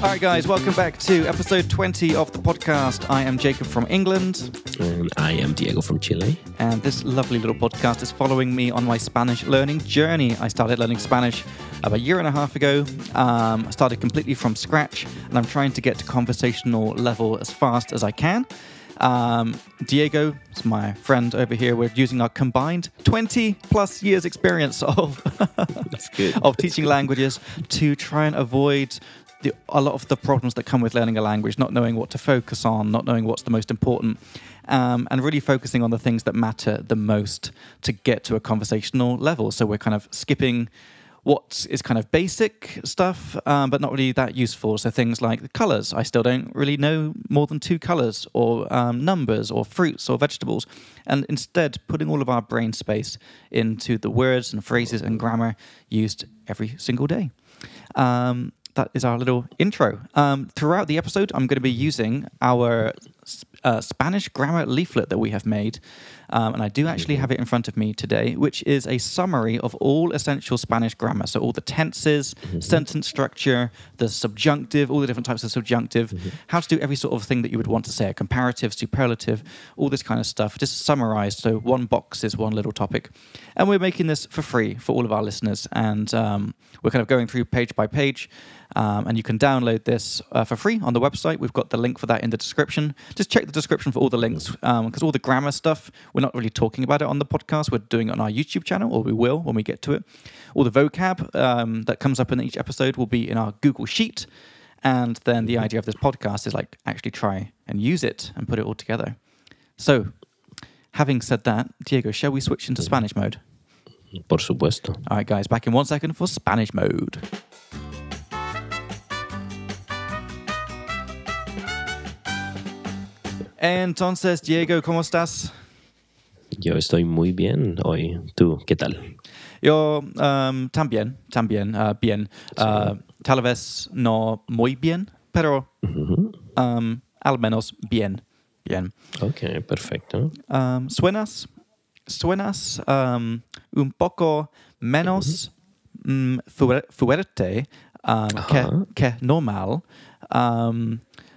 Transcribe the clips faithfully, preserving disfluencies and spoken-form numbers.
All right, guys, welcome back to episode twenty of the podcast. I am Jacob from England. And I am Diego from Chile. And this lovely little podcast is following me on my Spanish learning journey. I started learning Spanish about a year and a half ago. Um, I started completely from scratch, and I'm trying to get to conversational level as fast as I can. Um, Diego is my friend over here. We're using our combined twenty plus years experience of, That's good. of teaching languages to try and avoid The, a lot of the problems that come with learning a language, not knowing what to focus on, not knowing what's the most important, um, and really focusing on the things that matter the most to get to a conversational level. So we're kind of skipping what is kind of basic stuff, um, but not really that useful. So things like the colors. I still don't really know more than two colors, or um, numbers, or fruits, or vegetables. And instead, putting all of our brain space into the words and phrases and grammar used every single day. Um, That is our little intro. Um, throughout the episode, I'm going to be using our uh, Spanish grammar leaflet that we have made. Um, and I do actually have it in front of me today, which is a summary of all essential Spanish grammar. So all the tenses, mm-hmm. sentence structure, the subjunctive, all the different types of subjunctive, mm-hmm. how to do every sort of thing that you would want to say, a comparative, superlative, all this kind of stuff, just summarized. So one box is one little topic. And we're making this for free for all of our listeners. And um, we're kind of going through page by page. Um, and you can download this uh, for free on the website. We've got the link for that in the description. Just check the description for all the links, because um, all the grammar stuff, we're not really talking about it on the podcast. We're doing it on our YouTube channel, or we will when we get to it. All the vocab um, that comes up in each episode will be in our Google Sheet. And then the idea of this podcast is like actually try and use it and put it all together. So, having said that, Diego, shall we switch into Spanish mode? Por supuesto. All right, guys, back in one second for Spanish mode. Entonces, Diego, ¿cómo estás? Yo estoy muy bien hoy. ¿Tú qué tal? Yo um, también, también, uh, bien. Uh, tal vez no muy bien, pero uh-huh. um, al menos bien, bien. Ok, perfecto. Um, ¿Suenas, suenas um, un poco menos uh-huh. um, fuerte um, que, que normal? Um,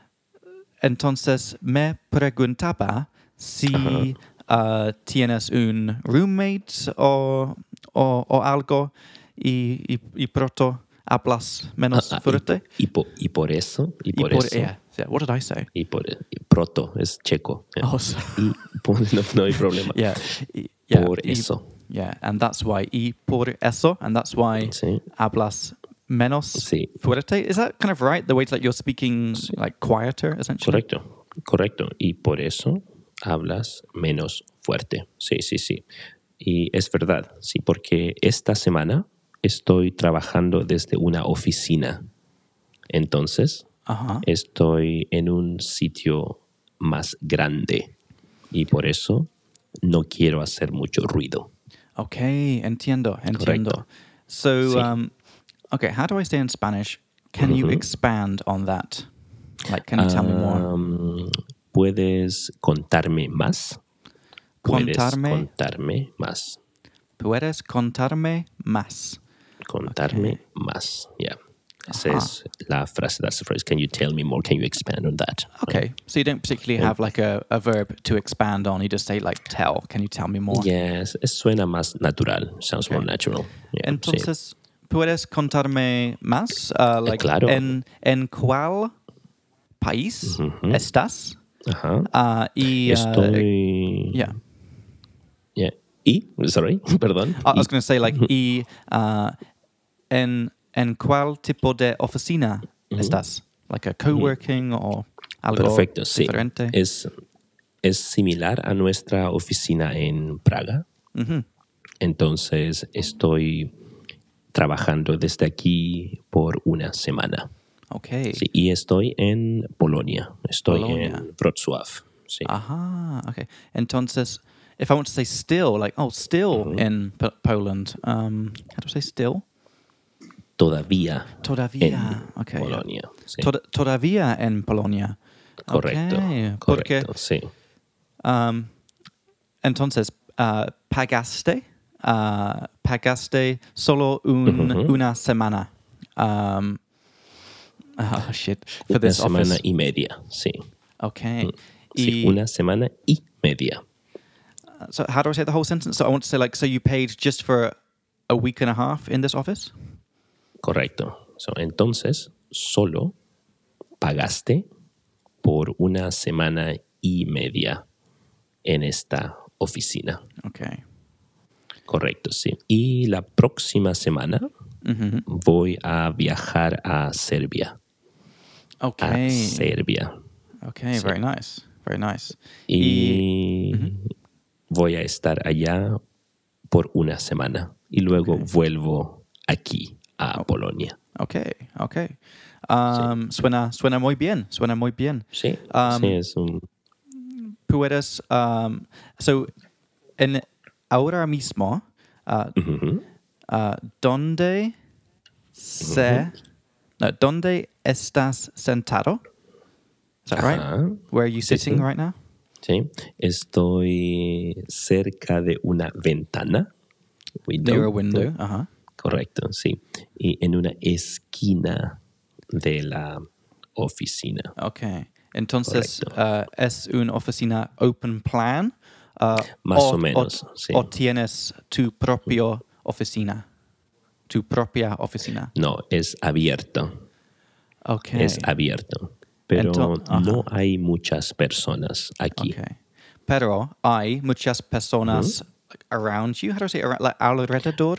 Entonces me preguntaba si uh, tienes un roommate o, o, o algo y, y, y pronto hablas menos ah, fuerte. Y, y, por, y por eso. Y por, y por eso. Yeah, yeah. What did I say? Y por y proto es checo. Yeah. Oh, so. Y por, no, no hay problema. Yeah, y, yeah. Por y, eso. Yeah, and that's why. Y por eso, and that's why sí. hablas menos sí. fuerte. Is that kind of right? The way to, like, you're speaking sí. like quieter, essentially? Correcto, correcto. Y por eso hablas menos fuerte. Sí, sí, sí. Y es verdad, sí, porque esta semana estoy trabajando desde una oficina. Entonces, uh-huh. estoy en un sitio más grande. Y por eso no quiero hacer mucho ruido. Okay, entiendo, entiendo. Correcto. So, sí. um, okay, how do I say in Spanish? Can uh-huh. you expand on that? Like, can you tell um, me more? ¿Puedes contarme más? ¿Puedes Contarme, contarme más? ¿Puedes contarme más? Contarme okay. más, yeah. Esa uh-huh. es la frase, that's the phrase. Can you tell me more? Can you expand on that? Okay, right? So you don't particularly have like a, a verb to expand on. You just say like tell. Can you tell me more? Yes, es, suena más natural. Sounds okay. more natural. Yeah, Entonces, sí. ¿puedes contarme más? Uh, like, eh, claro. En, ¿En cuál país uh-huh. estás? Ajá. Uh, y, Estoy... Uh, yeah. Yeah. ¿Y? Sorry, perdón. I was going to say like, y uh, en, en cuál tipo de oficina uh-huh. estás? Like a coworking uh-huh. o algo Perfecto, diferente? Sí. Es, es similar a nuestra oficina en Praga. Uh-huh. Entonces, estoy trabajando desde aquí por una semana. Okay. Sí, y estoy en Polonia. Estoy Polonia. en Wrocław. Sí. Aha, okay. Entonces, if I want to say still, like, oh, still uh-huh. in P- Poland, um, how do I say still? Todavía. Todavía. En okay. Polonia. Sí. Tod- todavía en Polonia. Correcto. Okay. Correcto, Porque, sí. Um, entonces, uh, pagaste, uh, pagaste solo un, uh-huh. una semana. Um, Oh, shit. For Una this semana office. y media, sí. Okay. Sí, Y- una semana y media. So how do I say the whole sentence? So I want to say like, so you paid just for a week and a half in this office? Correcto. So, entonces, solo pagaste por una semana y media en esta oficina. Okay. Correcto, sí. Y la próxima semana Mm-hmm. voy a viajar a Serbia. A Okay. Serbia. Okay, Sí. very nice. Very nice. Y voy a estar allá por una semana. Y luego Okay. vuelvo aquí a Polonia. Okay, okay. Um, suena, suena muy bien. Suena muy bien. Sí, Um, sí, es un... ¿Puedes, um, so, en ahora mismo, uh, Ujú. uh, ¿dónde se, no, ¿dónde estás sentado? Is that right? Ajá. Where are you Sí, sitting sí. right now? Sí, estoy cerca de una ventana. Window. Near a window. Uh-huh. Correcto, sí. Y en una esquina de la oficina. Okay. Entonces, Correcto. uh, ¿es una oficina open plan? Uh, Más o menos, sí. ¿O tienes tu propia oficina? Tu propia oficina. No, es abierto. Okay. Es abierto. Pero Ento- ajá. no hay muchas personas aquí. Okay. Pero hay muchas personas like, around you. How do I say around, like alrededor?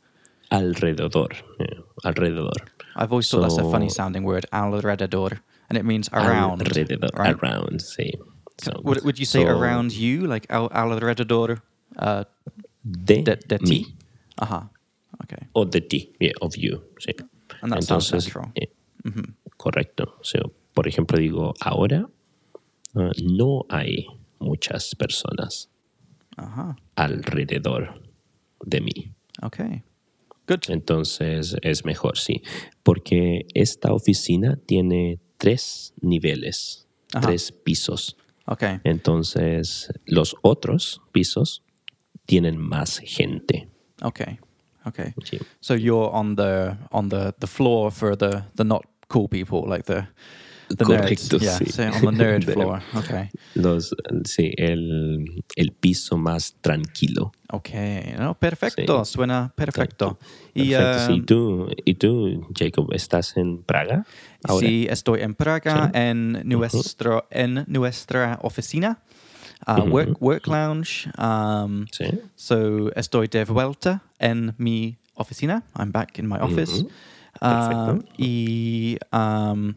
Alrededor. eh, alrededor. I've always thought that's a funny So, sounding word, alrededor, and it means around. Alrededor. Right? Around, sí. So, Would, would you say so, around you, like al, alrededor uh, De, de, de ti? mí. Ajá. Okay. O de ti, yeah, of you. Sí. And that sounds Entonces, natural. eh, correcto. So, por ejemplo, digo, ahora uh, no hay muchas personas Ajá. alrededor de mí. Okay. Good. Entonces es mejor, sí. Porque esta oficina tiene tres niveles, Ajá. tres pisos. Okay. Entonces los otros pisos tienen más gente. Okay. Okay. Sí. So you're on the on the, the floor for the, the not cool people, like the the Correcto, nerds. Yeah. sí. So on the nerd De- floor. Okay. Los, sí, el, el piso más tranquilo. Okay. No, perfecto. Sí. Suena perfecto. Y Perfecto, sí. ¿Y um, tú, ¿Y tú, Jacob, estás en Praga ahora? sí, estoy en Praga, Sí. en nuestro en nuestra oficina, uh, work work lounge. Um, Sí. So estoy de vuelta en mi oficina. I'm back in my office. Perfecto. Um, y um,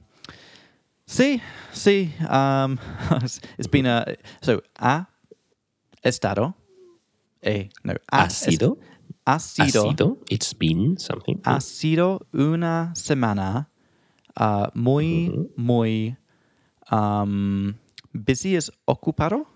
sí, sí. Um, it's been a so ha estado. Eh, no, ha, ¿Ha sido? ha ¿Ha sido. sido? It's been something. Ha sido una semana uh, muy, muy um, busy. ¿Es ocupado?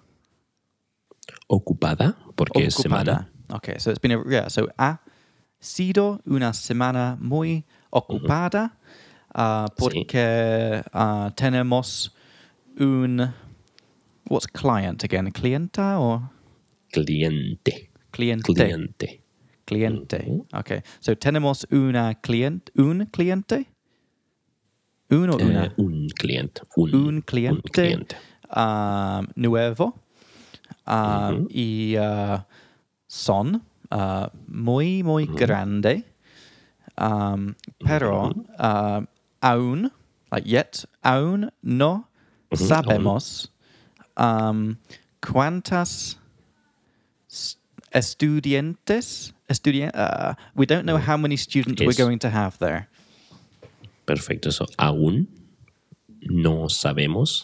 Ocupada, porque es semana. Okay, so it's been a, yeah, so ha sido una semana muy ocupada uh, porque uh, tenemos un, what's client again? ¿Clienta or? Cliente. Cliente. Cliente. Cliente. Okay, so tenemos una client, un cliente? Un o una? Eh, un cliente. Un, un cliente, un cliente. um, nuevo um, y uh, son uh, muy, muy grande, um, pero uh, aún, like yet, aún no sabemos um, cuántas s- estudiantes, estudien- uh, we don't know how many students we're Es- going to have there. Perfecto. So, aún no sabemos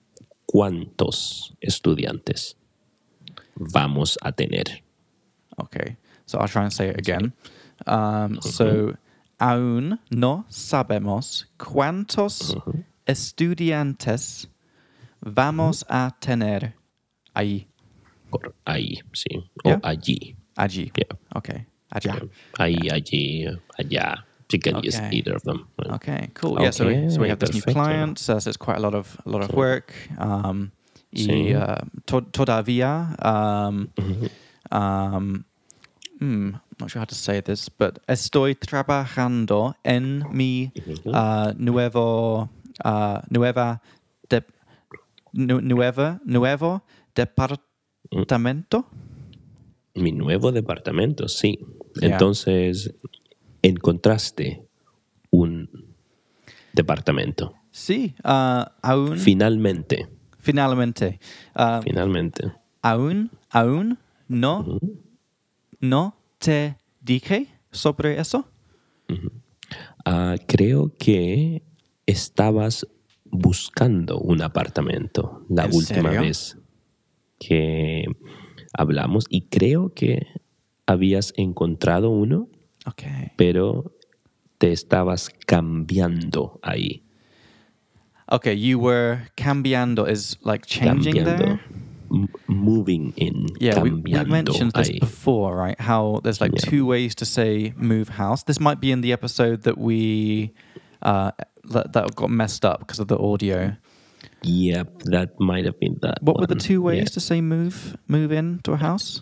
cuántos estudiantes vamos a tener. Okay, so I'll try and say it again. Um, so, aún no sabemos cuántos estudiantes vamos a tener ahí, Por ahí, sí. Yeah. O allí. allí. Yeah. Okay, allá. Ahí, allí, allá. You can use Okay. either of them. Okay, cool. Yeah, so we, so we have this new Okay, perfecto. client. So it's quite a lot of a lot of work. Um, y Sí. uh, to- todavía um, um, mm, not sure how to say this, but estoy trabajando en mi uh, nuevo, uh, nueva, de, nu, nueva, nuevo departamento. Mi nuevo departamento, sí. Yeah. Entonces, encontraste un departamento. Sí, uh, aún. Finalmente. Finalmente. Uh, Finalmente. Aún, aún no, uh-huh. no te dije sobre eso. Uh-huh. Uh, creo que estabas buscando un apartamento la última serio? vez que hablamos y creo que habías encontrado uno, okay. pero te estabas cambiando ahí. Okay, you were cambiando is like changing cambiando. there? M- moving in. Yeah, we, we mentioned this ahí. before, right? How there's like yeah. two ways to say move house. This might be in the episode that we uh, that, that got messed up because of the audio. Yep, that might have been that. What one. were the two ways yeah. to say move move in to a house?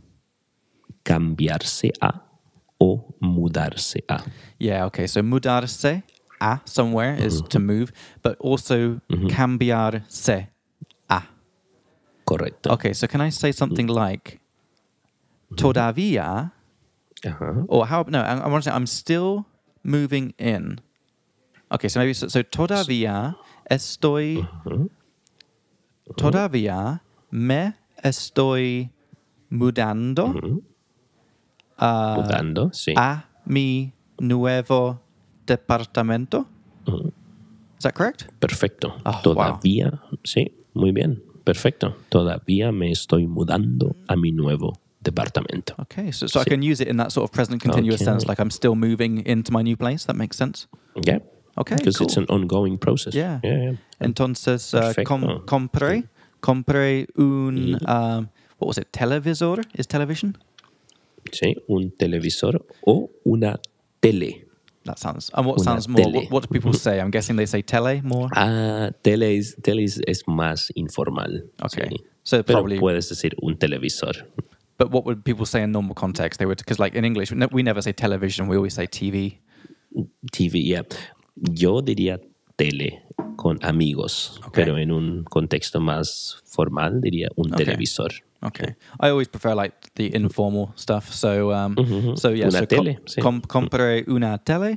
Cambiarse a o mudarse a. Yeah, okay. So mudarse a somewhere is mm-hmm. to move, but also mm-hmm. cambiarse a. Correcto. Okay, so can I say something mm-hmm. like todavía? Uh-huh. Or how? No, I, I want to say I'm still moving in. Okay, so maybe so, so todavía estoy. Uh-huh. Todavía me estoy mudando. Uh-huh. Uh, mudando, sí. A mi nuevo departamento. Uh-huh. Is that correct? Perfecto. Oh, Todavía, wow. sí, muy bien. Perfecto. Todavía me estoy mudando a mi nuevo departamento. Okay, so, so sí. I can use it in that sort of present continuous okay. sense, like I'm still moving into my new place. That makes sense? Yeah. Okay, Because cool. it's an ongoing process. Yeah. yeah, yeah. Entonces, uh, com- compré, compré un, mm. um, what was it, televisor? Is television? Sí, un televisor o una tele. That sounds, and what una sounds more, tele. what, what do people say? I'm guessing they say tele more? Ah, tele es, tele es, es más informal. Okay. Sí. So Pero probably, puedes decir un televisor. but what would people say in normal context? They would, because like in English, we, ne- we never say television, we always say T V. T V, yeah. Yo diría tele con amigos, okay. pero en un contexto más formal diría un okay. televisor. Okay. I always prefer like the informal stuff. So, um, mm-hmm. so yeah. Una so tele. Com- sí. com- compré una tele,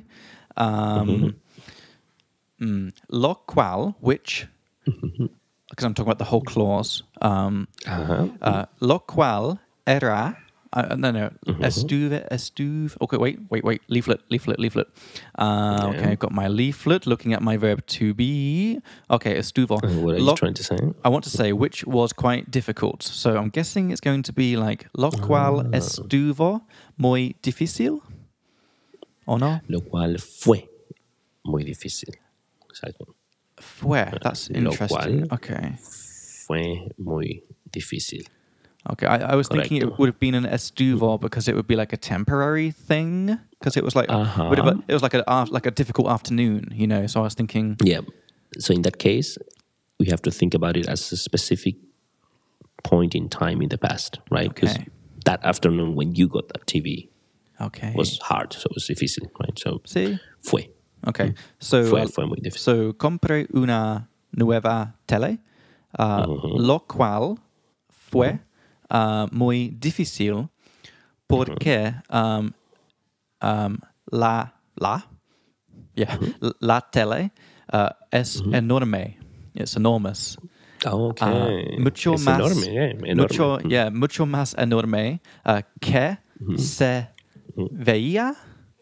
um, mm-hmm. mm, lo cual, which, because mm-hmm. I'm talking about the whole clause, um, uh-huh. uh, lo cual era. Uh, no, no. Mm-hmm. Estuve, estuve. Okay, wait, wait, wait. Leaflet, leaflet, leaflet. Uh, yeah. Okay, I've got my leaflet looking at my verb to be. Okay, estuvo. Uh, what are lo, you trying to say? I want to say which was quite difficult. So I'm guessing it's going to be like lo cual ah. estuvo muy difícil. ¿O no? Lo cual fue muy difícil. Exacto. Fue. That's lo interesting. Cual okay. Fue muy difícil. Okay, I, I was Correcto. thinking it would have been an estuvo because it would be like a temporary thing because it was like uh-huh. would have, it was like a like a difficult afternoon, you know. So I was thinking, yeah. So in that case, we have to think about it as a specific point in time in the past, right? Because okay. that afternoon when you got that T V, okay, was hard, so it was difícil, right? So sí, fue. Okay, so fue, uh, fue muy difícil. So compré una nueva tele, uh, uh-huh. lo cual fue. Uh-huh. Uh, muy difícil porque um, um, la la yeah uh-huh. la tele uh, es uh-huh. enorme. It's enormous. Okay. Uh, mucho es más enorme, yeah, enorme. mucho uh-huh. yeah mucho más enorme uh, que uh-huh. se uh-huh. veía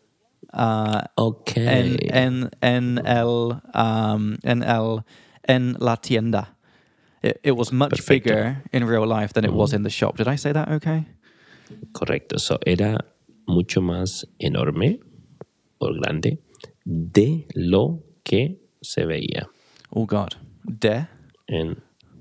uh, okay. en en en el um, en el en la tienda. It, it was much Perfecto. bigger in real life than it mm-hmm. was in the shop. Did I say that okay? Correcto. So, era mucho más enorme o grande de lo que se veía. Oh, God. De? En,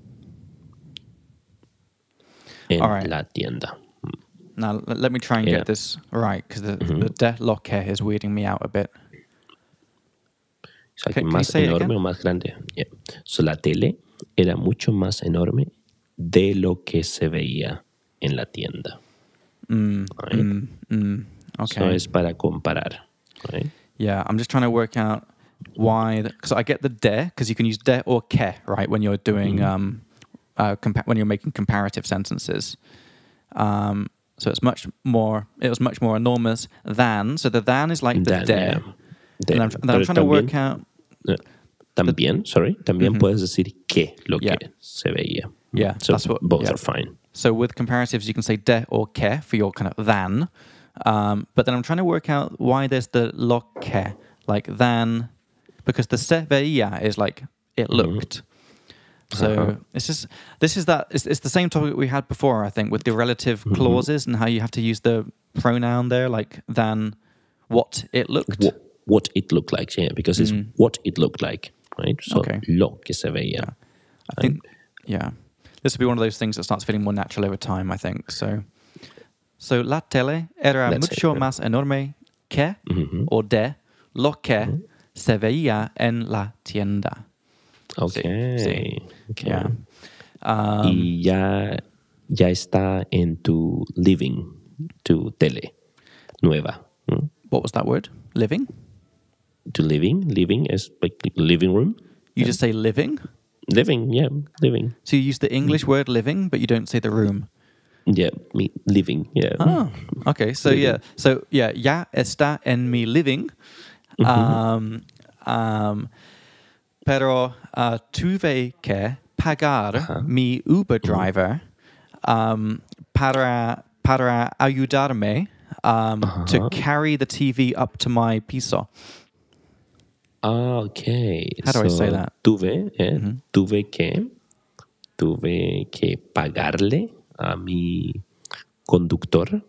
en right. la tienda. Now, l- let me try and era. get this right, because the, mm-hmm. the de lo que is weirding me out a bit. O sea, can, que más enorme o más grande. Yeah. So, la tele era mucho más enorme de lo que se veía en la tienda. Mm, right? mm, mm. Okay. So es para comparar, right? Yeah, I'm just trying to work out why, because I get the de, because you can use de or que, right, when you're doing, Mm-hmm. um, uh, compa- when you're making comparative sentences. Um, so it's much more, it was much more enormous than, so the than is like the Than, de. yeah. De. And I'm, then Pero I'm trying to work también, out, eh, también, sorry, también Mhm. puedes decir que lo Yeah. que se veía. Yeah, So that's what- both yeah. are fine. so with comparatives you can say de or que for your kind of than, um, but then I'm trying to work out why there's the lo que, like than, because the se veía is like it looked. So Uh-huh. it's just this is that it's, it's the same topic we had before, I think, with the relative clauses and how you have to use the pronoun there, like than what it looked. What, what it looked like, yeah, because it's what it looked like, right? So Okay. lo que se veía. I think, yeah, this will be one of those things that starts feeling more natural over time, I think. So, so la tele era That's mucho it, yeah. más enorme que o de lo que se veía en la tienda. Okay. sí. Okay. Yeah. Um, Y ya, ya está en tu living, tu tele nueva. ¿no? what was that word? Living? Tu living, living is like living room. You just say living? Living, yeah, living. So you use the English word living, but you don't say the room. Yeah, me living, yeah. Oh, okay. So Living. yeah, so yeah, ya está en mi living. Um, um, pero uh, tuve que pagar mi Uber driver um, para para ayudarme um, to carry the T V up to my piso. Ah, okay. How do I say So, that? Tuve, eh, tuve que, tuve que pagarle a mi conductor,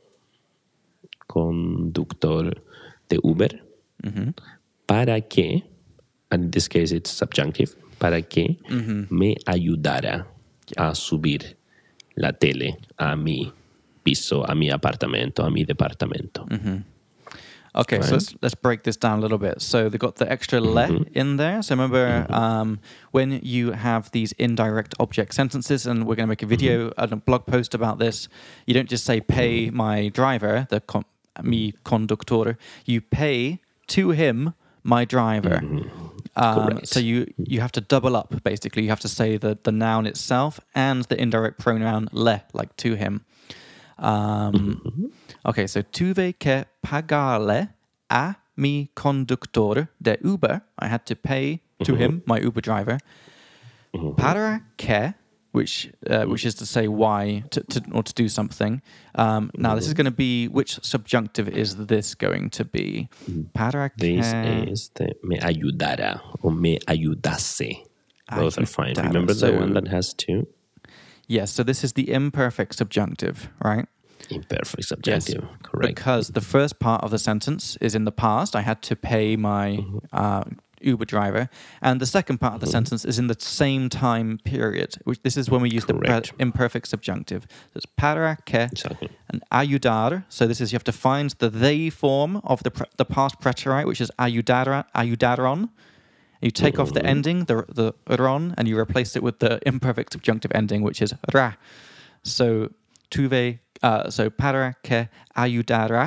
conductor de Uber, para que, and in this case it's subjunctive, para que me ayudara a subir la tele a mi piso, a mi apartamento, a mi departamento. Okay, so Right. let's let's break this down a little bit. So they've got the extra le in there. So remember um, when you have these indirect object sentences, and we're going to make a video and a blog post about this. You don't just say pay my driver, the con- mi conductor. You pay to him my driver. Um, Correct. so you you have to double up basically. You have to say the the noun itself and the indirect pronoun le, like to him. Um, okay, so tuve que pagarle a mi conductor de Uber. I had to pay to him, my Uber driver, para que, which uh, which is to say why, to, to or to do something. Um, now this is going to be, which subjunctive is this going to be? Para que. This is the me ayudara or me ayudase. Both are fine. Ayudara. Remember So- the one that has two? Yes, so this is the imperfect subjunctive, right? Imperfect subjunctive. Correct. Because the first part of the sentence is in the past. I had to pay my uh, Uber driver. And the second part of the sentence is in the same time period. Which this is when we use Correct. the pre- imperfect subjunctive. So it's para que Exactly. and ayudar. So this is you have to find the they form of the pre- the past preterite, which is ayudara, ayudaron. You take off the ending, the the ron, and you replace it with the imperfect subjunctive ending, which is ra. So tuve, uh, so para que ayudara.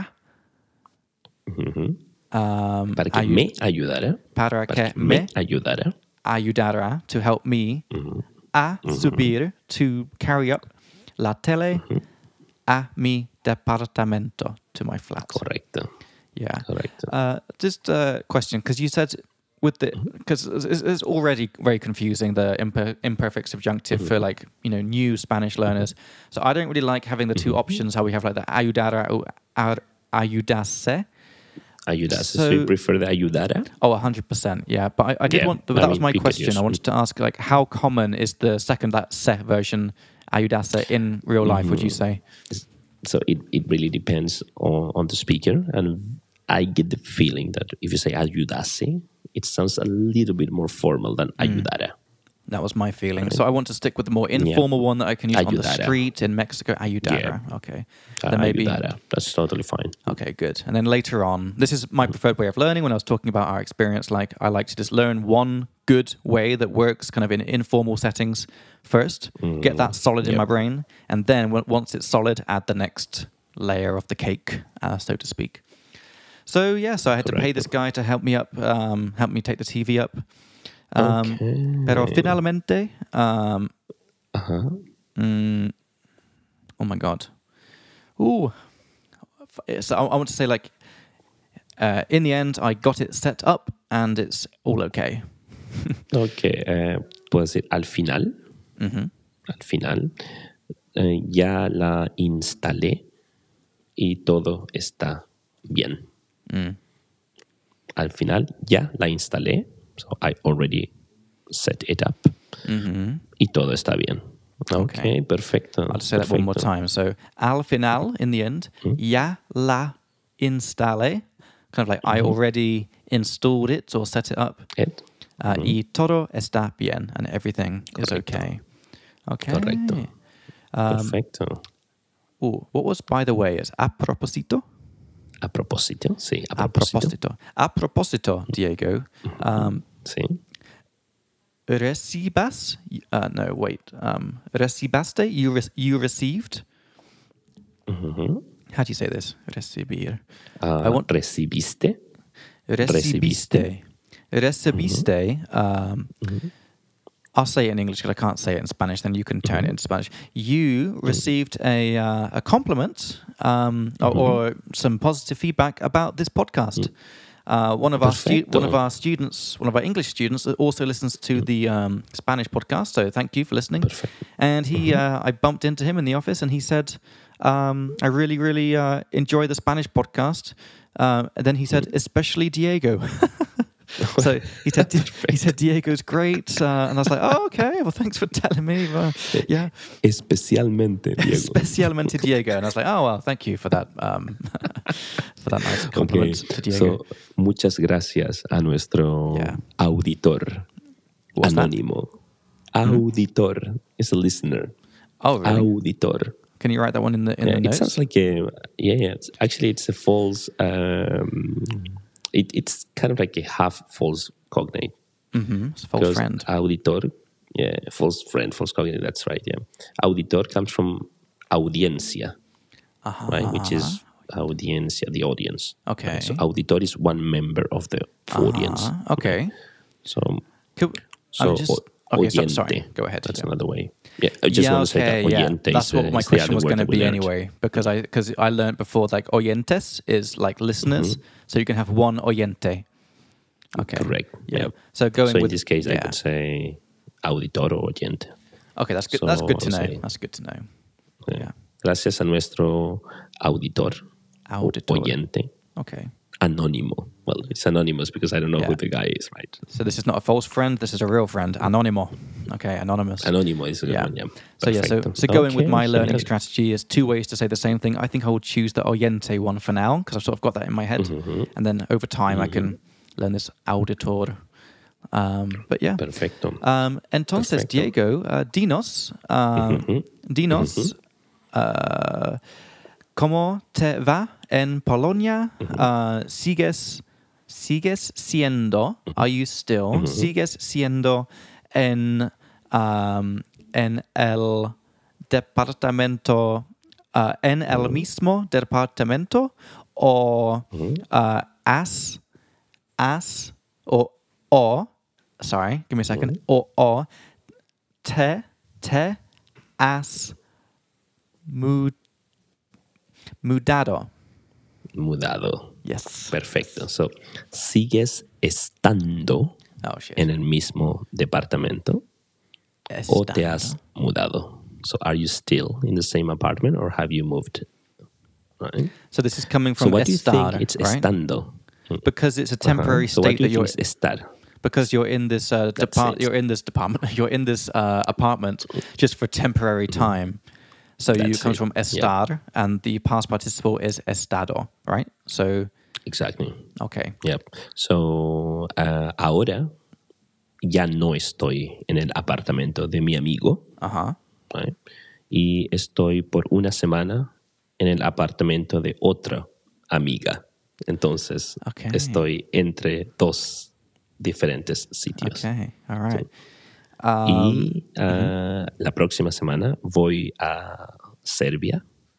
Um, Para que ayu- me ayudara. para Para que que me me ayudara. ayudara, to help me a subir, to carry up la tele a mi departamento, to my flat. Correcto. Yeah. Correcto. Uh, just a question, because you said with the because it's, it's already very confusing, the imper, imperfect subjunctive for like you know new Spanish learners. So I don't really like having the two options. How we have like the ayudara or ar- ayudase. Ayudase. So, so- you prefer the ayudara? Oh, one hundred percent. Yeah, but I, I did Yeah, want. But I that was mean, my we could question. use- I wanted to ask like how common is the second that se version ayudase in real life? Would you say? So it, it really depends on, on the speaker. And I get the feeling that if you say ayudase, it sounds a little bit more formal than ayudara. That was my feeling. So I want to stick with the more informal one that I can use on the Ayudara. street in Mexico. Ayudara. Okay. Uh, Then maybe. ayudara. That's totally fine. Okay, good. And then later on, this is my preferred way of learning. When I was talking about our experience, like I like to just learn one good way that works kind of in informal settings first, get that solid in Yep. my brain, and then w- once it's solid, add the next layer of the cake, uh, so to speak. So yeah, so I had to pay this guy to help me up, um, help me take the T V up. Um, Okay. Pero finalmente, um, Uh-huh. mm, oh my god, ooh, so I, I want to say like, uh, in the end, I got it set up and it's all okay. Ok, eh, puedo decir al final, Mhm. al final, eh, ya la instalé y todo está bien. Mm. Al final ya la instalé, so I already set it up Mhm. y todo está bien. Ok, Okay. perfecto. I'll just say that one more perfecto. time. So, al final, in the end, ya la instalé. Kind of like I already installed it or set it up. Ed? Uh, Y todo está bien, and everything is Correcto. okay. Okay. Correcto. Um, Perfecto. ooh, what was, by the way, is a propósito? A propósito, sí, a A propósito. propósito. A propósito, Diego. Um, Sí. recibas? Uh, no, wait. Um, recibaste? You, re- you received? Ujú. How do you say this? Recibir. Ah, I want ¿Recibiste? recibiste. Recibiste. Um, I'll say it in English because I can't say it in Spanish. Then you can turn it into Spanish. You received a uh, a compliment um, or, or some positive feedback about this podcast. Uh, one of our stu- Perfecto. one of our students, one of our English students, also listens to the um, Spanish podcast. So thank you for listening. Perfect. And he, uh, I bumped into him in the office, and he said, um, "I really, really uh, enjoy the Spanish podcast." Uh, and then he said, "Especially Diego." So he said, he said Diego's great, uh, and I was like, "Oh, okay. Well, thanks for telling me." Uh, yeah, Especialmente, Diego. Especialmente Diego, and I was like, "Oh, well, thank you for that, um, for that nice compliment Okay. to Diego." So, muchas gracias a nuestro Yeah. auditor What's that? anónimo. Auditor is a listener. Oh, really? Auditor. Can you write that one in the in Yeah, the it notes? sounds like a yeah, yeah. It's, actually, it's a false. Um, it, it's kind of like a half false cognate. Mm-hmm. It's a false Because friend. auditor, yeah, false friend, false cognate. That's right. Yeah, auditor comes from audiencia, Uh-huh. right? Which is audiencia, the audience. Okay. Right? So auditor is one member of the audience. Uh-huh. Okay. So Could, so I'm just o- okay. So, oyente. sorry. Go ahead. That's yeah. another way. Yeah, I just yeah, want to say okay, that yeah. oyente That's is, what uh, my is the question other was word going to that we be learned. anyway, because I because I learned before like oyentes is like listeners, so you can have one oyente. Okay. Correct. Yeah. Yeah. So going So in with this case, I yeah. could say auditor o oyente. Okay, that's good. that's So, good to know. sí. That's good to know. Yeah. Yeah. Gracias a nuestro auditor, o Auditor. oyente, Okay. anónimo. Well, it's anonymous because I don't know Yeah. who the guy is, right? So this is not a false friend. This is a real friend. Anonimo. Okay, anonymous. Anónimo is a good Yeah. one, yeah. So yeah, so, Perfecto. so going with Okay, my learning genial. strategy is two ways to say the same thing. I think I will choose the oyente one for now because I've sort of got that in my head, Mm-hmm. and then over time I can learn this auditor. Um, but yeah. Perfecto. Um, entonces, Perfecto. Diego, uh, dinos, um, Ujú. dinos, uh, ¿cómo te va en Polonia? Uh, ¿Sigues, sigues siendo, are you still, sigues siendo en, um, en el departamento, uh, en el mismo departamento o uh, has, has, o, o, sorry, give me a second, o, o, te, te has mud, mudado. Mudado. Yes. Perfecto. So, ¿sigues estando Oh, shit. en el mismo departamento o te has mudado? So, are you still in the same apartment or have you moved? Right? So this is coming So, from what do you estar, think it's right? estando? Because it's a temporary Uh-huh. So, what state do you that you're think is estar? because you're in this uh, That's depart it. you're in this department you're in this uh, apartment just for temporary time. So you That's comes it. from estar and the past participle is estado, right? So Exactly. okay. Yep. So, uh, ahora ya no estoy en el apartamento de mi amigo, Uh-huh. right? Y estoy por una semana en el apartamento de otra amiga. Entonces, Okay. estoy entre dos diferentes sitios. Okay. All right. Y uh, la próxima semana voy a Serbia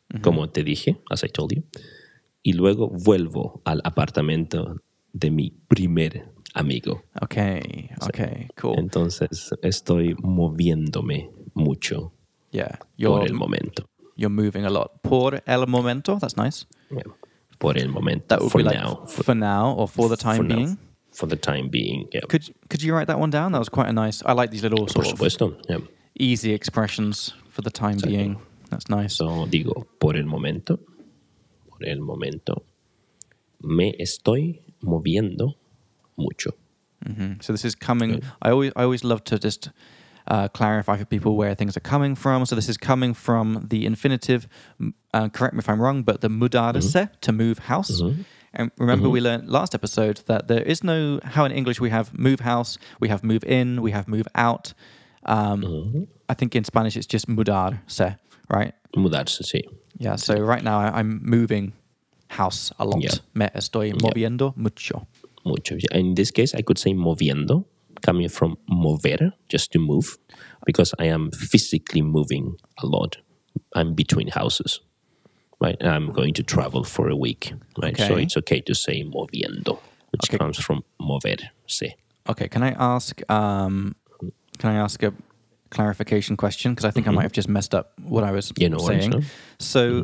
como te dije, as I told you. Y luego vuelvo al apartamento de mi primer amigo. Okay, okay, cool. Entonces estoy moviéndome mucho Yeah, por you're el momento. you're moving a lot. Por el momento, that's nice. Yeah. Por el momento. That would for be like now. f- for now or for the time for now. being. For the time being, yeah. Could could you write that one down? That was quite a nice. I like these little Por sort of supuesto, yeah. easy expressions for the time Exactly. being. That's nice. So, digo, por el momento, por el momento, me estoy moviendo mucho. Mhm. So this is coming. I always I always love to just uh, clarify for people where things are coming from. So this is coming from the infinitive. m- Uh, correct me if I'm wrong, but the mudarse to move house. And remember, we learned last episode that there is no how in English we have move house, we have move in, we have move out. Um, I think in Spanish it's just mudarse, right? Mudarse, sí. Yeah. So right now I, I'm moving house a lot. Yeah. Me estoy moviendo mucho. Mucho. In this case, I could say moviendo, coming from mover, just to move, because I am physically moving a lot. I'm between houses, right? I'm going to travel for a week, right? So Okay. it's okay to say moviendo, which Okay. comes from moverse. Okay. Can I ask? Um, can I ask a clarification question? Because I think I might have just messed up what I was Yeah, no worries, saying. no? So,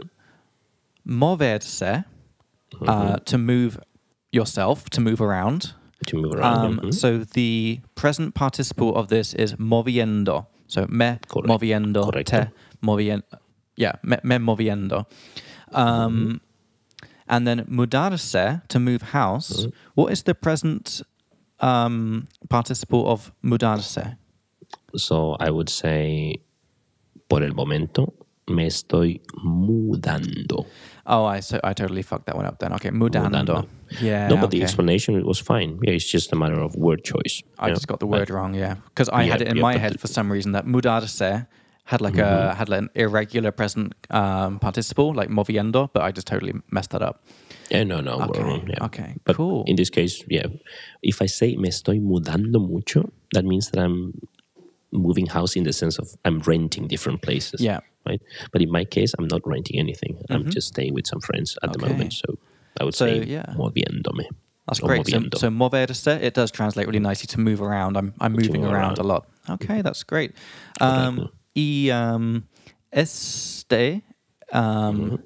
moverse, uh, to move yourself, to move around. To move around. Um, mhm. So the present participle of this is moviendo. So me Correct. moviendo, Correcto. te moviendo. Yeah, me, me moviendo. Um, And then mudarse, to move house. What is the present um, participle of mudarse? So I would say, por el momento, me estoy mudando. Oh, I so I totally fucked that one up then. Okay, mudando. Mudando. Yeah. no, but the okay. explanation was fine. Yeah, it's just a matter of word choice. I Yeah. just got the word wrong, yeah, because I Yeah, had it in yeah, my but head the- for some reason that mudarse had like a had like an irregular present um, participle, like moviendo, but I just totally messed that up. Yeah, no, no, Okay, we're wrong. Yeah. okay, But cool. in this case, yeah, if I say me estoy mudando mucho, that means that I'm moving house in the sense of I'm renting different places. Yeah. Right. But in my case, I'm not renting anything. I'm just staying with some friends at the Okay. moment. So I would So, say yeah. moviéndome. That's or great. So, moviendo. so moverse, it does translate really nicely to move around. I'm I'm moving move around around. a lot. Okay, that's great. Um, y um, este, um,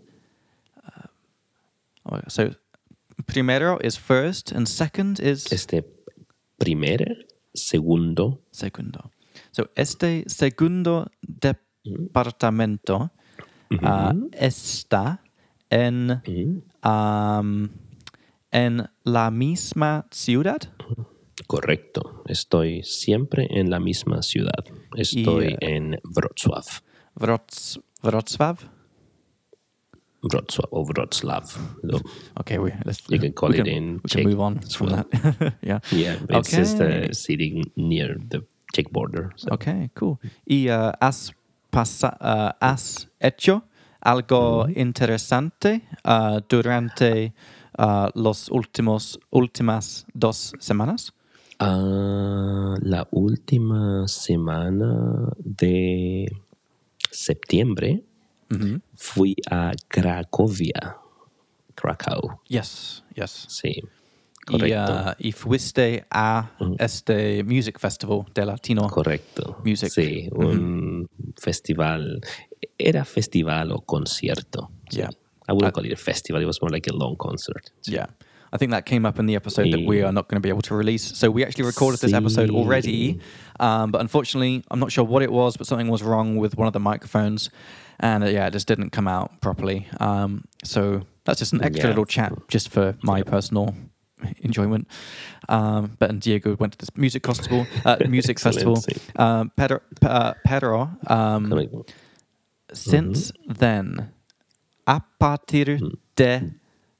uh, so primero is first and second is Este primer, segundo, segundo. So este segundo departamento uh, está en um, en la misma ciudad. correcto. Estoy siempre en la misma ciudad. Estoy Y, en Wrocław. Wroc- Wrocław. Wrocław or Wrocław. So, Okay, we let's You can call we it can, in we Czech can move on as from well. that. yeah. yeah, it's just Okay. uh, sitting near the Czech border. So. Okay, cool. Y uh, has pasa, uh, has hecho algo interesante uh, durante uh, los últimos últimas dos semanas. Ah, la última semana de septiembre fui a Cracovia. Krakow. Yes, yes. Sí, Y, correcto. uh, y fuiste a este music festival de Latino. Correcto. Music. Sí, un festival. Era festival o concierto. Sí. Yeah. I wouldn't I- call it a festival. It was more like a long concert. Sí. Yeah. I think that came up in the episode that we are not going to be able to release. So we actually recorded this episode Sí. already, um, but unfortunately, I'm not sure what it was, but something was wrong with one of the microphones, and uh, yeah, it just didn't come out properly. Um, so that's just an extra Yeah. little chat just for my personal enjoyment. Um, but and Diego went to this music festival, uh, music festival. Excellent, Um, Pedro, uh, Pedro um, Correcto. since then, a partir de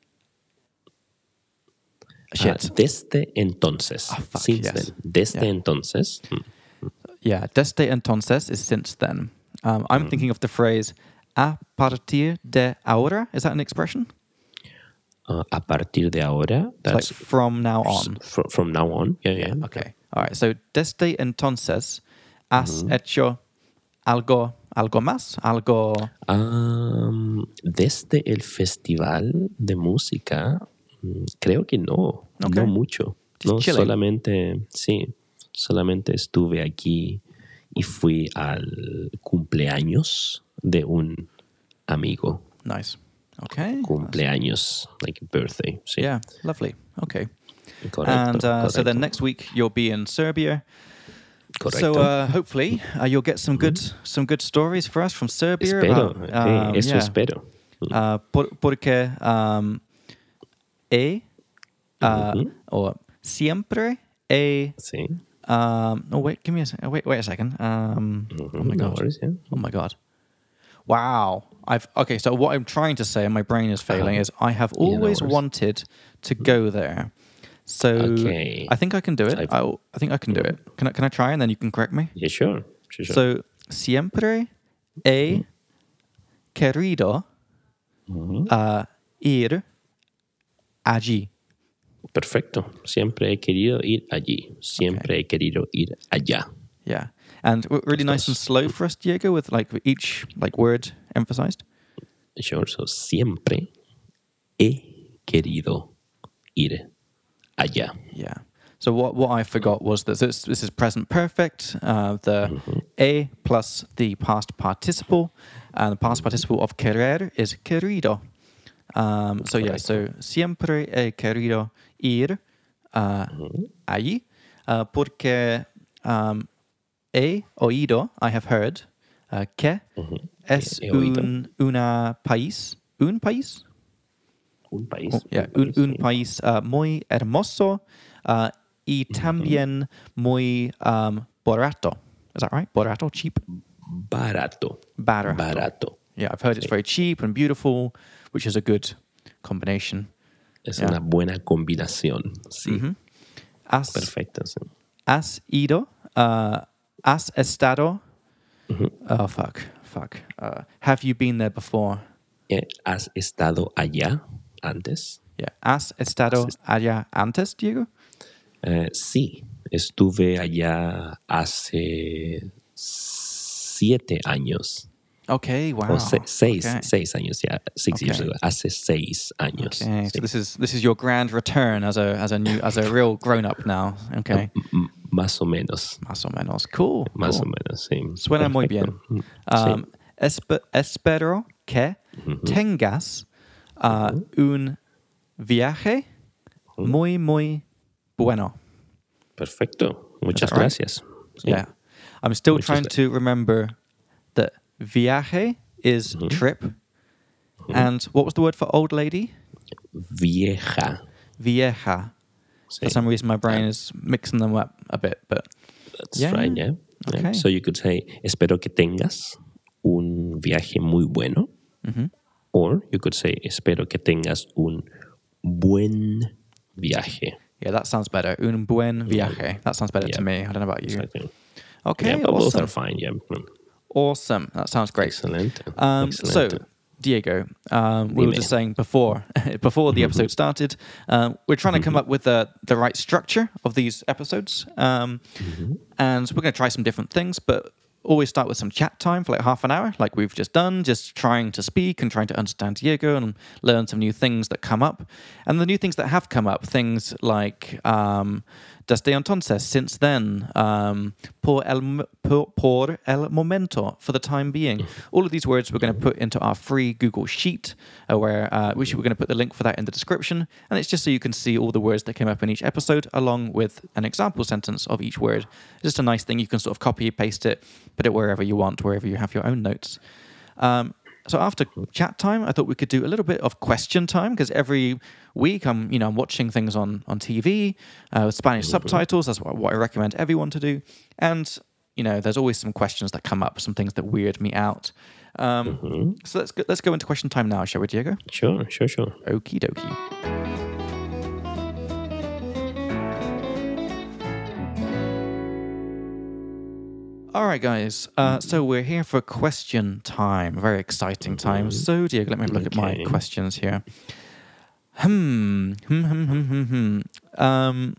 shit. Ah, desde entonces. Ah, fuck, Since yes. then. Desde Yeah. entonces. mm, Yeah, desde entonces is since then. Um, I'm thinking of the phrase a partir de ahora. Is that an expression? uh, a partir de ahora. It's like That's from now on. fr- from now on. Yeah, yeah. Okay. All right. So desde entonces has hecho algo ¿Algo más? ¿Algo? Am, desde el festival de música, mm, creo que no, Ok. no mucho. Just No, chilling. solamente, sí, solamente estuve aquí y fui al cumpleaños de un amigo. Nice. Okay. Cumpleaños, like birthday, sí. Yeah, lovely. Okay. Correcto, And uh, so then correcto, next week you'll be in Serbia. correcto. So uh, hopefully uh, you'll get some good some good stories for us from Serbia. Espero, about, eh, um, eso yeah. espero. Uh, por, porque um, he uh, Ujú, or siempre he. sí. Um, oh wait, give me a second. Wait, wait a second. Um, Ujú, oh my no god. worries, yeah. Oh my god. Wow. I've okay. So what I'm trying to say, and my brain is failing, Uh-huh. is I have Yeah, no always worries. wanted to go there. So Okay. I think I can do it. I've- I, I think I can do it. Can I, can I try and then you can correct me? Yeah, sure. Sure, sure. So siempre he querido Ujú. uh, ir allí. Perfecto. Siempre he querido ir allí. Siempre he querido ir allá. Yeah. And w- really nice and slow for us, Diego, with like each like word emphasized. Sure. So, siempre he querido ir allá. Yeah. So what what I forgot was that this this is present perfect. Uh, the a plus the past participle, and the past participle of querer is querido. Um, so yeah. So siempre he querido ir uh, allí, uh, porque um, he oído, I have heard, uh, que es He oído. un una país, un país. Un país. Oh, yeah, un, un país uh, muy hermoso uh, y también muy um, barato. Is that right? Barato, cheap? Barato. Barato. Barato. Yeah, I've heard it's very cheap and beautiful, which is a good combination. Es Yeah. una buena combinación. Sí. Has, Perfecto. Sí. has ido, uh, has estado, oh fuck, fuck. Uh, have you been there before? Eh, ¿Has estado allá antes? Yeah, has estado Has est- allá antes, Diego? Eh, sí, estuve allá hace siete años. Okay, wow. O se- seis, Okay. seis años, ya. Six years Okay. ago. Hace seis años. Okay, Sí. so this is this is your grand return as a as a new as a real grown up now. Okay, M- más o menos. más o menos. Cool. Más cool. o menos, sí. Suena muy Perfecto. bien. Sí. Um, espe- espero que tengas uh, un viaje muy muy bueno. Perfecto. Muchas that right? gracias. Sí. Yeah, I'm still Muchas trying gra- to remember that viaje is trip, and what was the word for old lady? Vieja. Vieja. Sí. For some reason, my brain is mixing them up a bit, but That's Yeah. right, yeah. Yeah. Okay. So you could say, espero que tengas un viaje muy bueno. Or you could say, espero que tengas un buen viaje. yeah, that sounds better. Un buen viaje. That sounds better Yeah. to me. I don't know about you. Exactly. Okay, Yeah, but both awesome. are fine, yeah. Mm. Awesome. That sounds great. Excellent. Um, so, Excellent. Diego, um, we were Dime. just saying before before the episode started, um, we're trying to come up with the the right structure of these episodes, um, and we're going to try some different things, but always start with some chat time for like half an hour, like we've just done, just trying to speak and trying to understand Diego and learn some new things that come up. And the new things that have come up, things like um, desde entonces, since then, um, por, el, por, por el momento, for the time being. All of these words we're going to put into our free Google Sheet, uh, where uh, we should, we're going to put the link for that in the description. And it's just so you can see all the words that came up in each episode, along with an example sentence of each word. It's just a nice thing. You can sort of copy, paste it, put it wherever you want, wherever you have your own notes. Um, so after chat time, I thought we could do a little bit of question time, because every week I'm, you know, I'm watching things on, on T V uh, with Spanish subtitles. That's what, what I recommend everyone to do. And, you know, there's always some questions that come up, some things that weird me out. Um, So let's go, let's go into question time now, shall we, Diego? Sure, sure, sure. Okie dokie. All right, guys. Uh, so we're here for question time. Very exciting time. So, Diego, let me have a look at my Okay. questions here. Hmm. Hmm. Hmm. Hmm. Hmm. hmm. Um.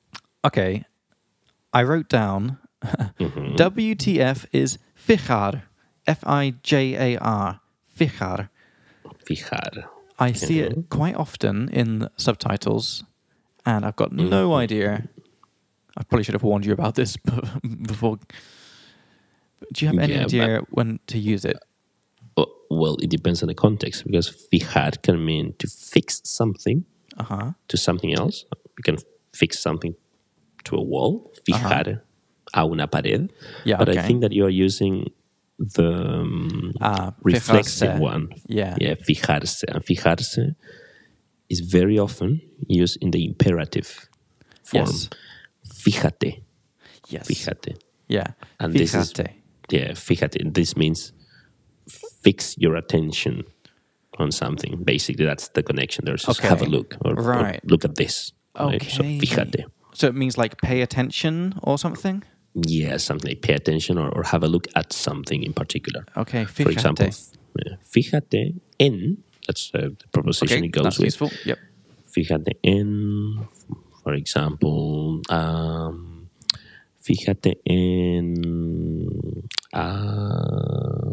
Okay. I wrote down. W T F is fijar. F I J A R. Fijar. Fijar. I see it quite often in subtitles, and I've got no idea. I probably should have warned you about this before. Do you have any Yeah, idea when to use it? Oh, well, it depends on the context, because fijar can mean to fix something Uh-huh. to something else. You can fix something to a wall, fijar a una pared. Yeah, but okay. I think that you are using the um, Ah, reflexive fijarse. one. Yeah. Yeah, fijarse. And fijarse is very often used in the imperative form. Yes. Fíjate. Yes. Fíjate. Yeah. And this is, Fíjate. yeah, fíjate. This means fix your attention on something. Basically, that's the connection. There's just Okay. have a look or, or Right. look at this. Okay. Right? So fíjate. So it means like pay attention or something? Yeah, something like pay attention or, or have a look at something in particular. Okay, fíjate. For example, f- yeah, fíjate en, that's uh, the preposition Okay, it goes that's with. useful. Yep. Fíjate en, for example, um, fíjate en uh,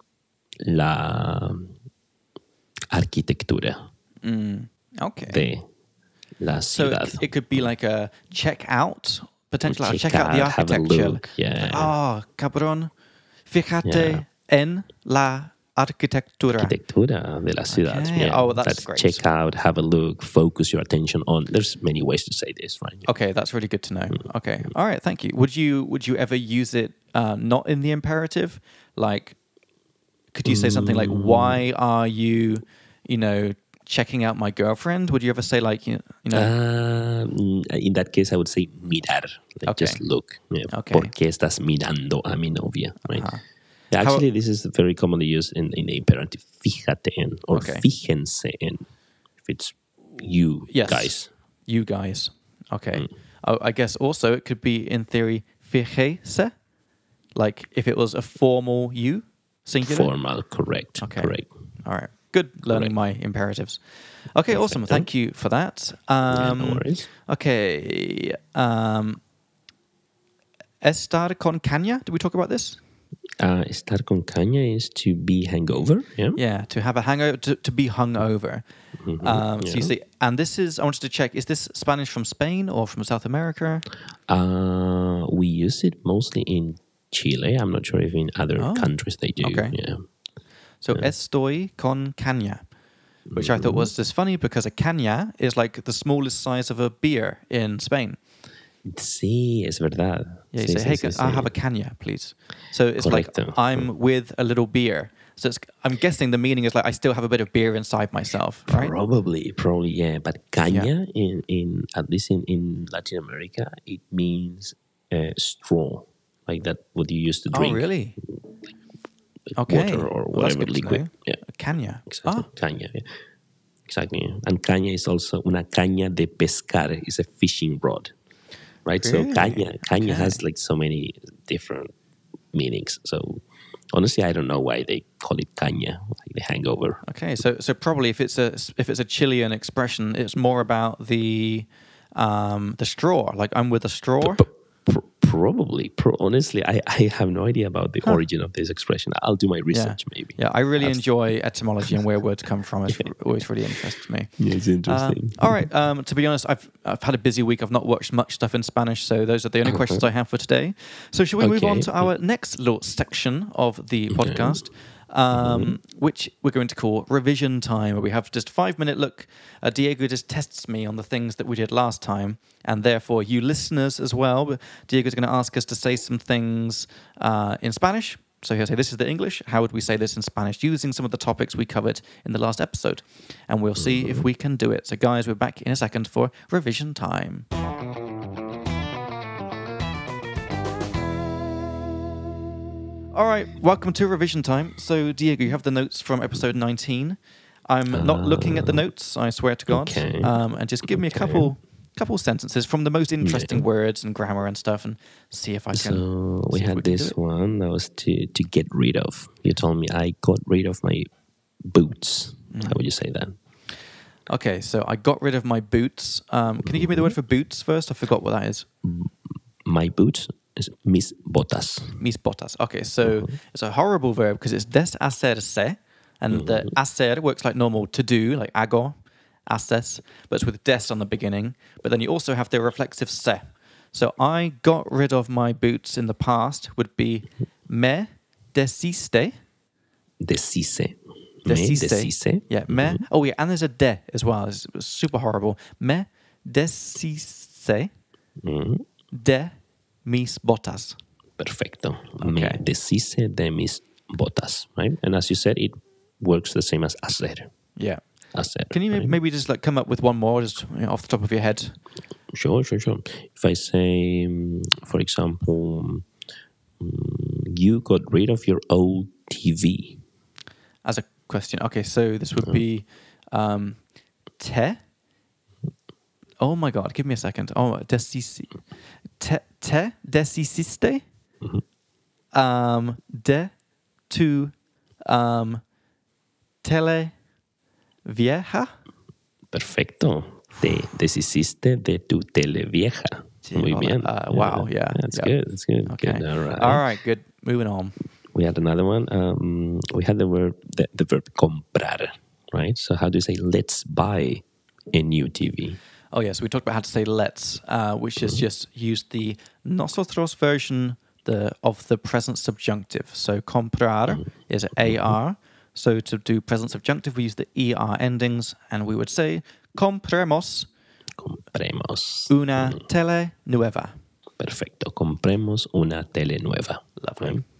la arquitectura Mm, okay. de la So ciudad. it, it could be like a check out, potentially like check Check out the out, have a architecture. look, yeah. Ah, cabrón. Fíjate Yeah. en la arquitectura. Arquitectura de la ciudad. Okay. Yeah. Oh, that's great. Check out, have a look, focus your attention on. There's many ways to say this, right? Okay, that's really good to know. Mm. Okay, all right, thank you. Would you would you ever use it uh, not in the imperative? Like, could you say something like, Mm. "Why are you, you know, checking out my girlfriend?" Would you ever say like, you, you know, Um, in that case, I would say mirar. Like Okay. just look. Yeah. Okay. ¿Por qué estás mirando a mi novia? Right? Uh-huh. Yeah, How- actually, this is very commonly used in, in the imperative. Fíjate en or Okay. fíjense en. If it's you yes, guys. you guys. Okay. Mm. Oh, I guess also it could be in theory fíjese, like if it was a formal you singular. Formal, correct. Okay. Correct. All right. Good learning my imperatives. Okay, awesome. Thank you for that. Yeah, Um, no worries. Okay. Um, estar con caña. Did we talk about this? Uh, estar con caña is to be hangover. Yeah. Yeah, to have a hangover, to, to be hungover. Mhm, Um, So you yeah. see, and this is, I wanted to check, is this Spanish from Spain or from South America? Uh, we use it mostly in Chile. I'm not sure if in other Oh, countries they do. okay. Yeah. So estoy con caña, which I thought was just funny because a caña is like the smallest size of a beer in Spain. Sí, es verdad. Yeah, you Sí, say, sí, hey, sí, can- I'll sí. have a caña, please. So it's Correcto. like I'm with a little beer. So it's, I'm guessing the meaning is like I still have a bit of beer inside myself, right? Probably, probably, yeah. But caña, in, in at least in, in Latin America, it means uh, straw, like that what you used to Oh, drink. really? like Okay. Water or Well, that's whatever good to liquid. know. Yeah, A caña. exactly. Ah, Caña, yeah. Exactly. Yeah. And caña is also una caña de pescar, is a fishing rod, right? Really? So caña, caña Okay. has like so many different meanings. So honestly, I don't know why they call it caña, like the hangover. okay. So so probably if it's a if it's a Chilean expression, it's more about the um the straw. Like I'm with a straw. But pr- probably, pro- honestly, I, I have no idea about the origin of this expression. I'll do my research maybe. Yeah, I really Abs- enjoy etymology and where words come from. It always really interests me. Yeah, it's Um, interesting. all right. Um, to be honest, I've I've had a busy week. I've not watched much stuff in Spanish, so those are the only questions I have for today. So, shall we move on Okay. to our next little section of the podcast, um, which we're going to call revision time, where we have just five minute look. Uh, Diego just tests me on the things that we did last time, and therefore you listeners as well. But Diego's going to ask us to say some things uh, in Spanish. So he'll say, this is the English. How would we say this in Spanish? Using some of the topics we covered in the last episode. And we'll see if we can do it. So guys, we're back in a second for revision time. All right, welcome to revision time. So Diego, you have the notes from episode nineteen. I'm not looking at the notes, I swear to God. okay. Um, and just give me a Okay. couple couple sentences from the most interesting words and grammar and stuff, and see if I can. So we see if had we can do this it. one that was to, to get rid of. You told me I got rid of my boots. Mm. How would you say that? Okay, so I got rid of my boots. Um, can you give me the word for boots first? I forgot what that is. My boots is mis botas. Mis botas. Okay, so it's a horrible verb because it's deshacerse, and the hacer works like normal to do, like hago, haces, but it's with des on the beginning. But then you also have the reflexive se. So I got rid of my boots in the past would be me desiste. Deshice. Deshice. Me deshice. Yeah, me. Oh, yeah, and there's a de as well. It's, it's super horrible. Me deshice Mhm. de mis botas. Perfecto. Me Okay. deshice de mis botas, right? And as you said, it works the same as hacer. Yeah. Hacer. Can you right? maybe just like come up with one more, just you know, off the top of your head? Sure, sure, sure. If I say, um, for example, um, you got rid of your old T V. As a question. Okay, so this would be um, te. Oh my God! Give me a second. Oh, desisi. Te, te desisiste. Um, de tu um, tele vieja. Perfecto. Te deshiciste de tu tele vieja. Muy Oh, bien. uh, wow, yeah, That's yeah. good. That's good. Okay. Good. All right. All right. Good. Moving on. We had another one. Um, we had the verb, the, the verb comprar, right? So how do you say, let's buy a new T V? Oh, yes. We talked about how to say let's, uh, which is just use the nosotros version the of the present subjunctive. So comprar is A R. So to do present subjunctive, we use the E R endings, and we would say compremos Compremos. una tele nueva. Perfecto. Compremos una tele nueva. Lovely. Right?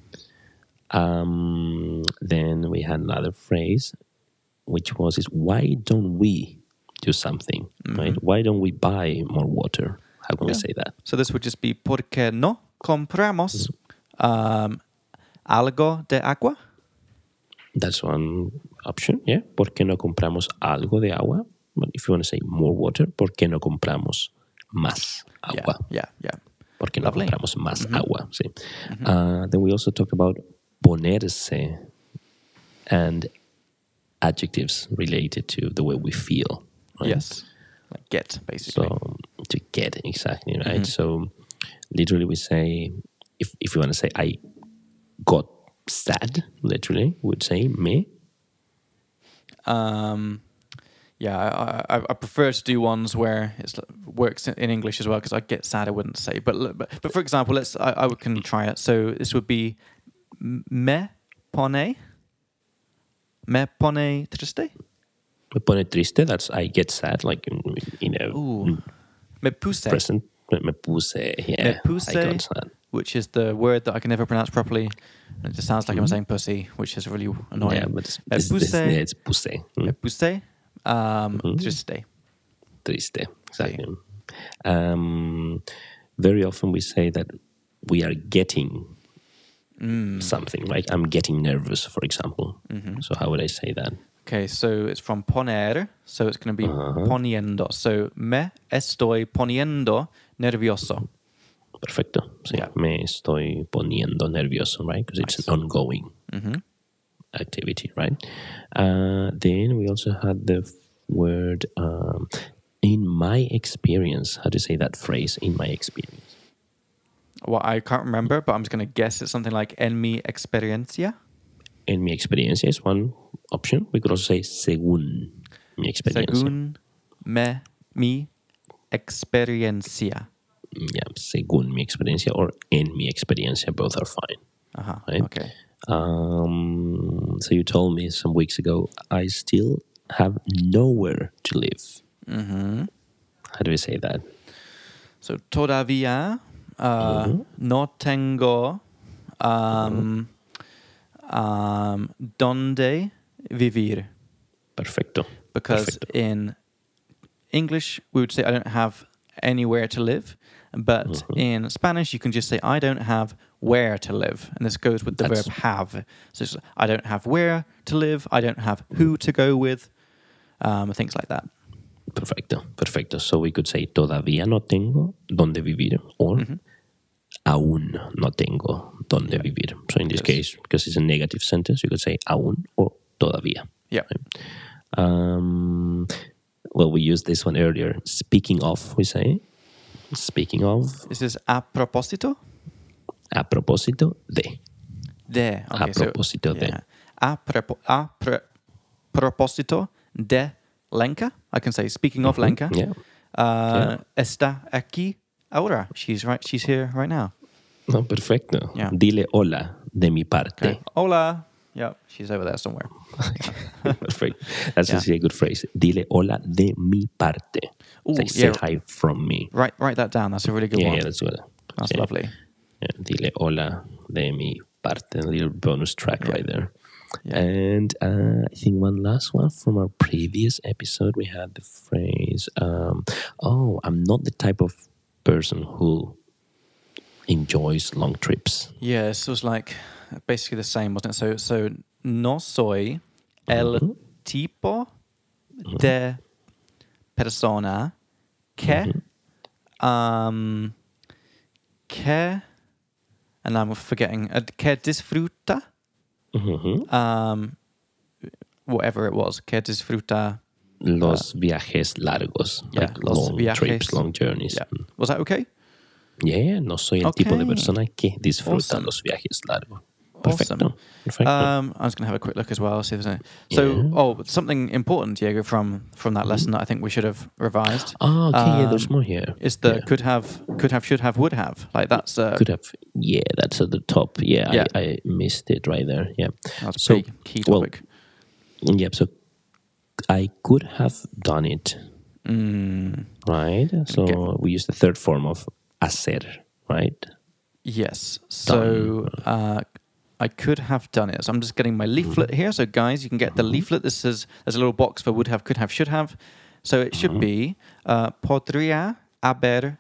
Um, then we had another phrase, which was, is why don't we do something, right? Why don't we buy more water? How can we Yeah. say that? So this would just be ¿por qué no compramos um, algo de agua? That's one option, yeah. ¿Por qué no compramos algo de agua? But if you want to say more water, ¿por qué no compramos más Yeah, agua? yeah, yeah. ¿Por qué no Lovely. compramos más agua? Sí. Uh, then we also talked about ponerse and adjectives related to the way we feel. Right? Yes. Like get, basically. So to get, exactly, right? So literally we say, if, if you want to say, I got sad, literally, we would say me. Um, yeah, I, I, I prefer to do ones where it works in, in English as well, because I get sad, I wouldn't say. But but, but for example, let's I, I can try it. So this would be me pone, me pone triste. Me pone triste, that's I get sad, like, you know, Ooh, me puse, present. Me puse, yeah. me puse, I got sad. which is the word that I can never pronounce properly. It just sounds like I'm saying pussy, which is really annoying. Yeah, but it's, me it's, puse, it's, yeah, it's puse. Mm. me puse, um, triste. Triste, exactly. Um, very often we say that we are getting something, right? I'm getting nervous, for example. So how would I say that? Okay, so it's from poner, so it's going to be poniendo. So me estoy poniendo nervioso. Perfecto. Sí, Yeah. me estoy poniendo nervioso, right? Because it's an ongoing activity, right? Uh, then we also had the f- word um, in my experience. How do you say that phrase? In my experience. Well, I can't remember, but I'm just going to guess it's something like en mi experiencia. En mi experiencia is one option. We could also say según mi experiencia. Según me, mi experiencia. Yeah, según mi experiencia or en mi experiencia, both are fine. Uh-huh. Right? Okay. Um, so you told me some weeks ago, I still have nowhere to live. Mm-hmm. How do we say that? So todavía uh, no tengo um, um, donde vivir. Perfecto. Because Perfecto. in English, we would say I don't have anywhere to live. But in Spanish, you can just say I don't have where to live. And this goes with the That's- verb have. So it's, I don't have where to live. I don't have who to go with. Um, things like that. Perfecto. Perfecto. So we could say todavía no tengo donde vivir or aún no tengo donde vivir. So in this Yes. case, because it's a negative sentence, you could say aún or todavía. Yeah. Um, well, we used this one earlier. Speaking of, we say. Speaking of, This is a propósito. A propósito de. De. Okay, a propósito so, de. Yeah. A, prepo- a pre- propósito de Lenka. I can say, speaking of Lenka. Yeah. Uh, Yeah. Está aquí ahora. She's right. She's here right now. No, perfecto. Yeah. Dile hola de mi parte. Okay. Hola. Yeah, she's over there somewhere. Perfect. That's Yeah. actually a good phrase. Dile hola de mi parte. Ooh, Say, say yeah. hi from me. Write write that down. That's a really good Yeah, one. yeah, that's good. That's Yeah. lovely. Yeah, dile hola de mi parte. A little bonus track Yeah. right there. Yeah. And uh, I think one last one from our previous episode, we had the phrase, um, oh, I'm not the type of person who enjoys long trips. Yeah, this was like basically the same, wasn't it? So, so no soy el tipo de persona que, um, que, and I'm forgetting, uh, que disfruta, Mm-hmm. um, whatever it was, que disfruta. Los viajes largos, Yeah, like los long viajes. trips, long journeys. Yeah, was that okay? Yeah, no soy el tipo de Okay. persona que disfruta Awesome. los viajes largos. Perfecto. Awesome. Perfecto. Um, I was going to have a quick look as well. See if there's any. So, Yeah. oh, something important, Diego, from from that lesson that I think we should have revised. Oh, okay, yeah, there's um, more here. Is the Yeah. could have, could have, should have, would have. Like that's uh, Could have, yeah, that's at the top. Yeah, Yeah. I, I missed it right there. Yeah. that's a So, pretty key well, topic. Yeah, so I could have done it, Mm, right? So Okay. we use the third form of hacer, right? yes. So uh, I could have done it. So I'm just getting my leaflet here. So guys, you can get the leaflet. This is there's a little box for would have, could have, should have. So it should be uh, podría haber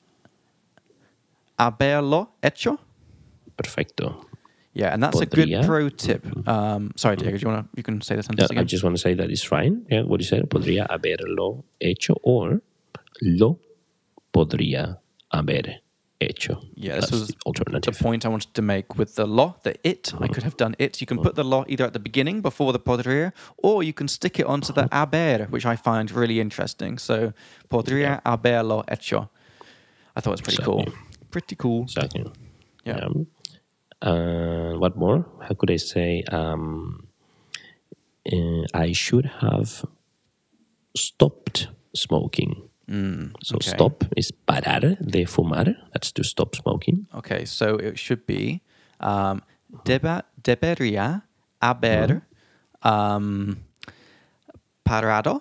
haberlo hecho. Perfecto. Yeah, and that's a Podría. good pro tip. Um, sorry, Diego, do you want to? You can say the Yeah, sentence I again. just want to say that it's fine. Yeah, what you said, podría haberlo hecho or lo podría haber hecho. Yeah, this That's was the the alternative. point I wanted to make with the lo, the it. I could have done it. You can put the lo either at the beginning before the podría, or you can stick it onto the haber, which I find really interesting. So podría haberlo hecho. I thought it was pretty cool. Exactly. Pretty cool. Exactly. Yeah. Uh, what more? How could I say? Um, uh, I should have stopped smoking. So okay. stop is parar de fumar. That's to stop smoking. Okay, so it should be um, deba, debería haber um, parado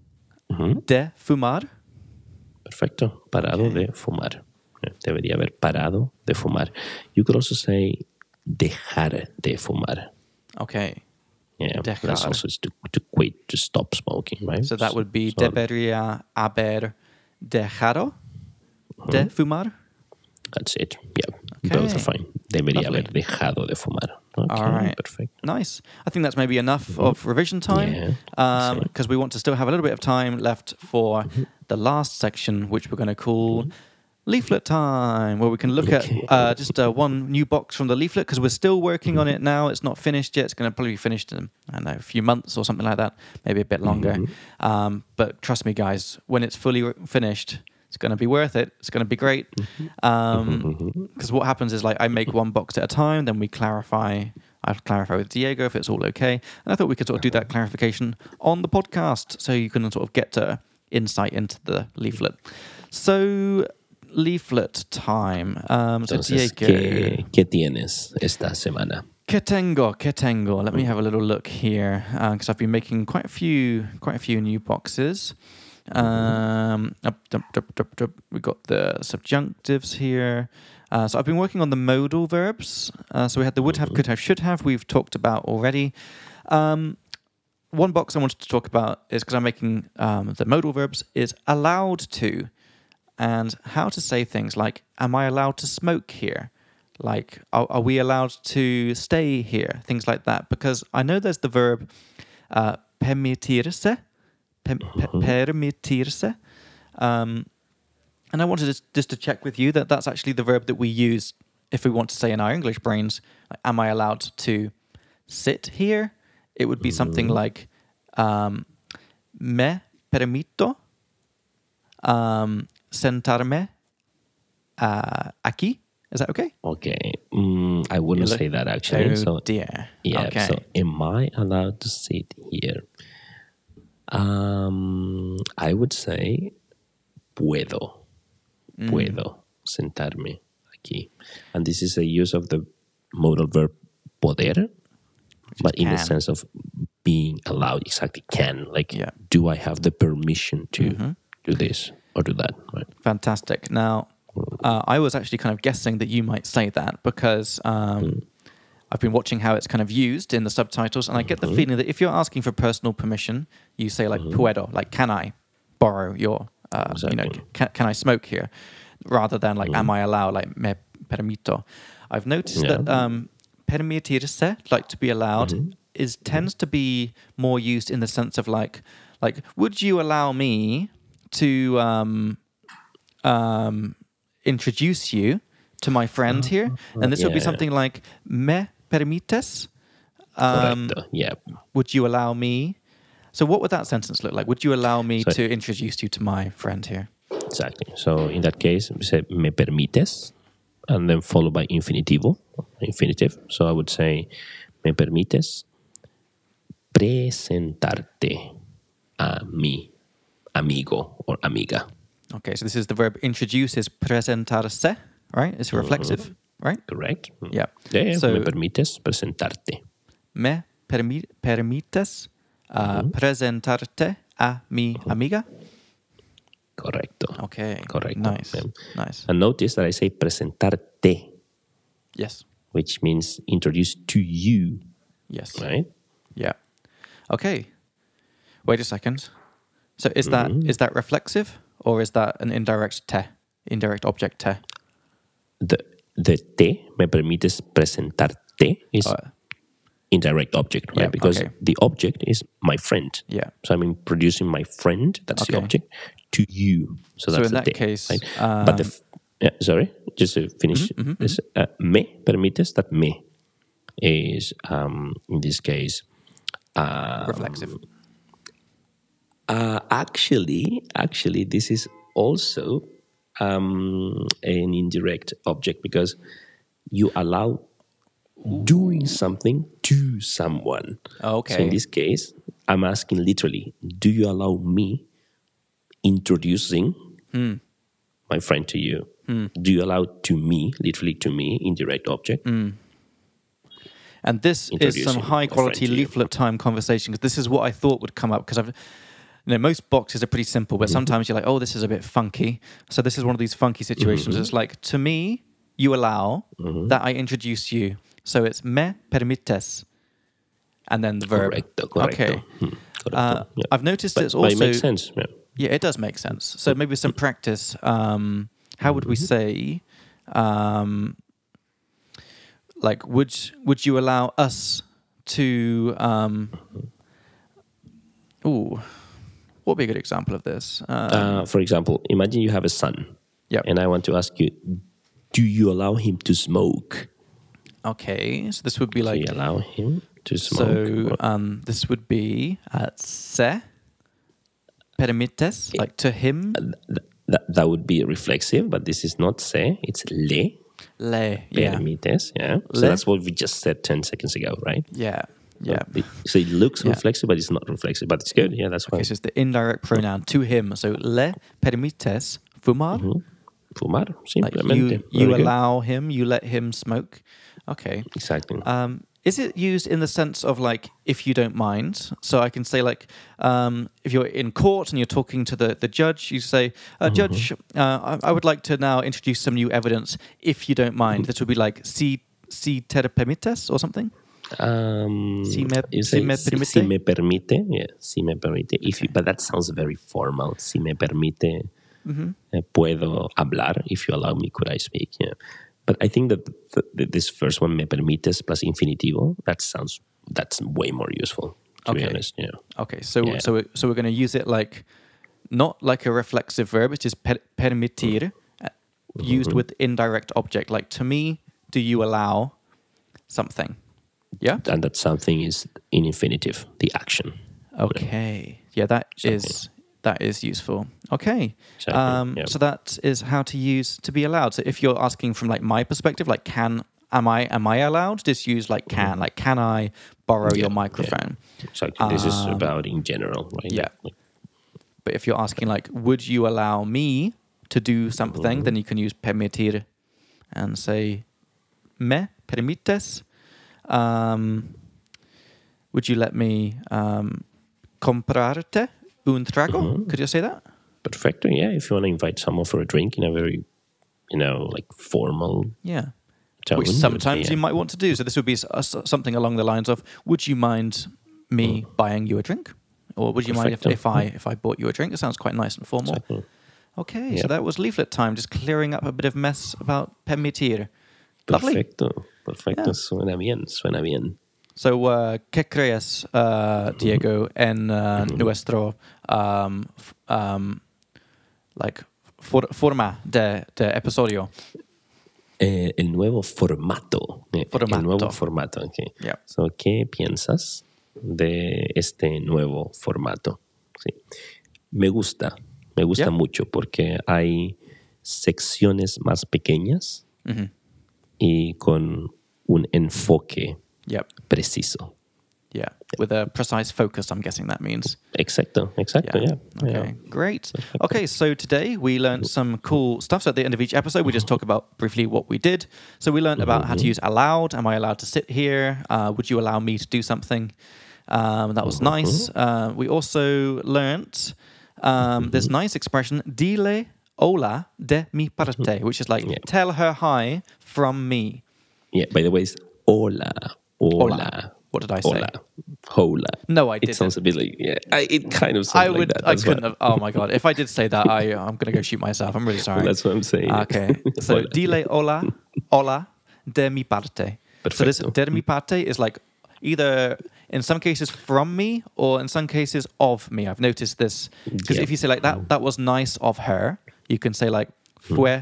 de fumar. Perfecto. Parado de fumar. Debería haber parado de fumar. You could also say dejar de fumar. Okay, Yeah, that's Dejar. also to, to quit, to stop smoking, right? so that would be So debería haber dejado de fumar. that's it. Yeah, both are Okay. fine. Debería Lovely. haber dejado de fumar. Okay, All right. perfect. Nice. I think that's maybe enough of revision time Yeah, because that's it. we want to still have a little bit of time left for the last section, which we're going to call leaflet time, where we can look at uh, just uh, one new box from the leaflet because we're still working on it now. It's not finished yet. It's going to probably be finished in, I don't know, a few months or something like that, maybe a bit longer. Um, but trust me, guys, when it's fully re- finished, it's going to be worth it. It's going to be great. Because what happens is, like, I make one box at a time, then we clarify. I clarify with Diego if it's all okay. And I thought we could sort of do that clarification on the podcast so you can sort of get uh, insight into the leaflet. So, leaflet time. Um, so, Entonces, Diego. ¿qué, ¿qué tienes esta semana? ¿Qué tengo? ¿Qué tengo? Let me have a little look here because I've been making quite a few, quite a few new boxes. Um, up, up, up, up, up. We got the subjunctives here. Uh, so I've been working on the modal verbs. Uh, so we had the would have, could have, should have. We've talked about already. Um, one box I wanted to talk about is because I'm making um, the modal verbs is allowed to, and how to say things like, "Am I allowed to smoke here?" Like, are, are we allowed to stay here? Things like that. Because I know there's the verb uh, permitirse, per, per, permitirse. Um, and I wanted to, just to check with you that that's actually the verb that we use if we want to say in our English brains, like, am I allowed to sit here? It would be something like, um, me permito um, sentarme uh, aquí. Is that okay? Okay. Mm, I wouldn't Look- say that actually. Oh so dear. yeah. Okay. So am I allowed to sit here? Um, I would say puedo. Mm. Puedo sentarme aquí. And this is a use of the modal verb poder, but in the can. sense of being allowed. Exactly, can. Like, Yeah. do I have the permission to do this or do that? Right. Fantastic. Now, uh, I was actually kind of guessing that you might say that because um, I've been watching how it's kind of used in the subtitles, and I get the feeling that if you're asking for personal permission, you say like puedo, like can I borrow your, uh, you know, Exactly. can, can I smoke here, rather than like am I allowed, like me permito. I've noticed Yeah. that um, permitirse, like to be allowed, is tends to be more used in the sense of like, like would you allow me to um, um, introduce you to my friend here? And this would be yeah. something like me permites? Um, Correcto. Yeah. would you allow me? So what would that sentence look like? Would you allow me So- to introduce you to my friend here? Exactly. So in that case, we say me permites, and then followed by infinitivo, infinitive. So I would say me permites presentarte a mi amigo or amiga. Okay, so this is the verb introduce is presentarse, right? It's reflexive, right? Correct? Yeah. Yeah, yeah. So- me permites presentarte. Me permi- permites uh, presentarte a mi amiga? Correcto. Okay. Correcto. Nice. Yeah. Nice. And notice that I say presentarte, Yes. which means introduce to you, Yes. right? Yeah. Okay. Wait a second. So is that is that reflexive or is that an indirect te, indirect object te? The the te, me permites presentarte, is Uh, indirect object, right? Yeah, Because okay. the object is my friend. Yeah. So I'm introducing my friend, that's the Okay. object, to you. So So that's in the that te, case, right? but the um, f- yeah, sorry, just to finish this, uh, me permites, that me is um, in this case reflexive. uh, actually actually this is also um, an indirect object because you allow doing something to someone. Okay. So in this case, I'm asking literally, do you allow me introducing my friend to you? Do you allow to me, literally to me, indirect object? And this is Introducing some high a quality friend to you. leaflet time conversation because this is what I thought would come up because I've you know most boxes are pretty simple but sometimes you're like, oh, this is a bit funky. So this is one of these funky situations. It's like, to me, you allow that I introduce you. So it's me permites and then the verb. Correcto, correcto. Okay. Hmm, correcto. Uh, yeah. I've noticed but, it's but it also makes sense. Yeah. Yeah, it does make sense. So maybe some practice. Um, how would we say, um, like, would would you allow us to? Um, ooh, what would be a good example of this? Um, Uh, for example, imagine you have a son, Yep. and I want to ask you, do you allow him to smoke? Okay, so this would be Do like you allow him to smoke? so. Um, this would be uh, se permites, like to him. Th- that, that would be reflexive, but this is not se, it's le Le, yeah, permites. Yeah. So Le. that's what we just said ten seconds ago, right? yeah, yeah. It- so it looks Yeah. reflexive, but it's not reflexive, but it's good. Yeah, that's why. Okay, so it's the indirect pronoun to him. So le permites fumar. Fumar, Like simplemente. you, Very you good. allow him, you let him smoke. Okay. Exactly. Um, is it used in the sense of like, if you don't mind? So I can say like, um, if you're in court and you're talking to the, the judge, you say, uh, Judge, uh, I, I would like to now introduce some new evidence, if you don't mind. This would be like, si, si te permites or something? Um, Si me- you si say, me si, permite? si me permite, yeah, si me permite. If you, but that sounds very formal. Si me permite, eh, puedo hablar. If you allow me, could I speak? Yeah. But I think that th- th- this first one, me permites plus infinitivo, that sounds that's way more useful. To be Okay. honest, yeah. Okay, so Yeah. so we- so we're going to use it like, not like a reflexive verb, it is per, permitir, uh, used with indirect object. Like, to me, do you allow something? Yeah? And that something is in infinitive, the action. Okay. Yeah, that is That is useful. Okay. Exactly, Um, yeah. So that is how to use to be allowed. So if you're asking from like my perspective, like can am I am I allowed? Just use like can. Like can I borrow Yeah, your yeah. microphone? Exactly. This is Um, about in general, right? yeah. Like, But if you're asking like would you allow me to do something, then you can use permitir and say me permites. Um, would you let me um, comprarte un trago? Could you say that? perfecto. Yeah. If you want to invite someone for a drink in a very, you know, like formal Yeah. tone. Which you'll say, sometimes yeah. you might want to do. So this would be s- uh, s- something along the lines of, would you mind me buying you a drink? Or would you mind if, Perfecto. if I if I bought you a drink? It sounds quite nice and formal. Exactly. Okay, so Yep. that was leaflet time, just clearing up a bit of mess about permitir. Lovely. Perfecto. Perfecto. Yeah. Suena bien. Suena bien. So, uh, ¿qué crees, uh, Diego, en uh, nuestro um, f- um, like for- forma de, de episodio? Eh, el nuevo formato. Eh, Formato. El nuevo formato. Okay. Yeah. So, ¿qué piensas de este nuevo formato? Sí. Me gusta. Me gusta Yeah. mucho porque hay secciones más pequeñas Mhm. y con un enfoque Yep. preciso. Yeah. With a precise focus, I'm guessing that means. Exacto, exacto, yeah. Okay, yeah. great. Okay, so today we learned some cool stuff. So at the end of each episode, we just talk about briefly what we did. So we learned about how to use allowed. Am I allowed to sit here? Uh, would you allow me to do something? Um, that was nice. Uh, we also learned um, this nice expression, dile hola de mi parte, which is like, Yeah. tell her hi from me. Yeah, by the way, it's hola, hola. What did I say? Hola, hola. No, I It didn't. sounds a bit like, yeah, I, it kind of sounds I like would. that. I That's couldn't why, have. Oh my god! If I did say that, I I'm gonna go shoot myself. I'm really sorry. That's what I'm saying. Okay. So Hola. dile hola, hola de mi parte. So this Perfecto. de mi parte is like either in some cases from me or in some cases of me. I've noticed this because Yeah. if you say like that, that was nice of her. You can say like fue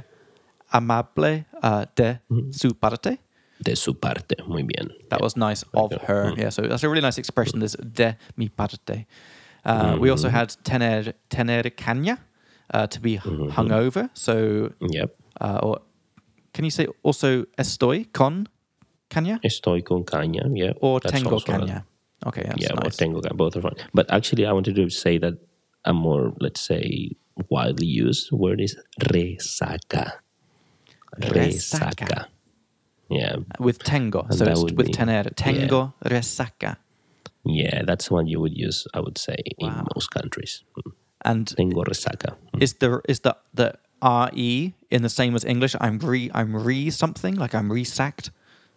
amable uh, de su parte. De su parte, muy bien. That was nice of her. Yeah, so that's a really nice expression, this de mi parte. Uh, We also had tener, tener caña, uh, to be hungover. So, Yep. uh, or can you say also estoy con caña? Estoy con caña, yeah. Or That's tengo also a- caña? Okay, that's yeah, or nice. tengo caña, both are fine. But actually, I wanted to say that a more, let's say, widely used word is resaca. Resaca. Resaca. Yeah. With tengo, And so that it's would with be- tener. Tengo resaca. Yeah, that's one you would use, I would say, in Wow. most countries. Mm. And Tengo resaca. Mm. is the is the the re in the same as English? I'm re I'm re something like I'm re-sacked.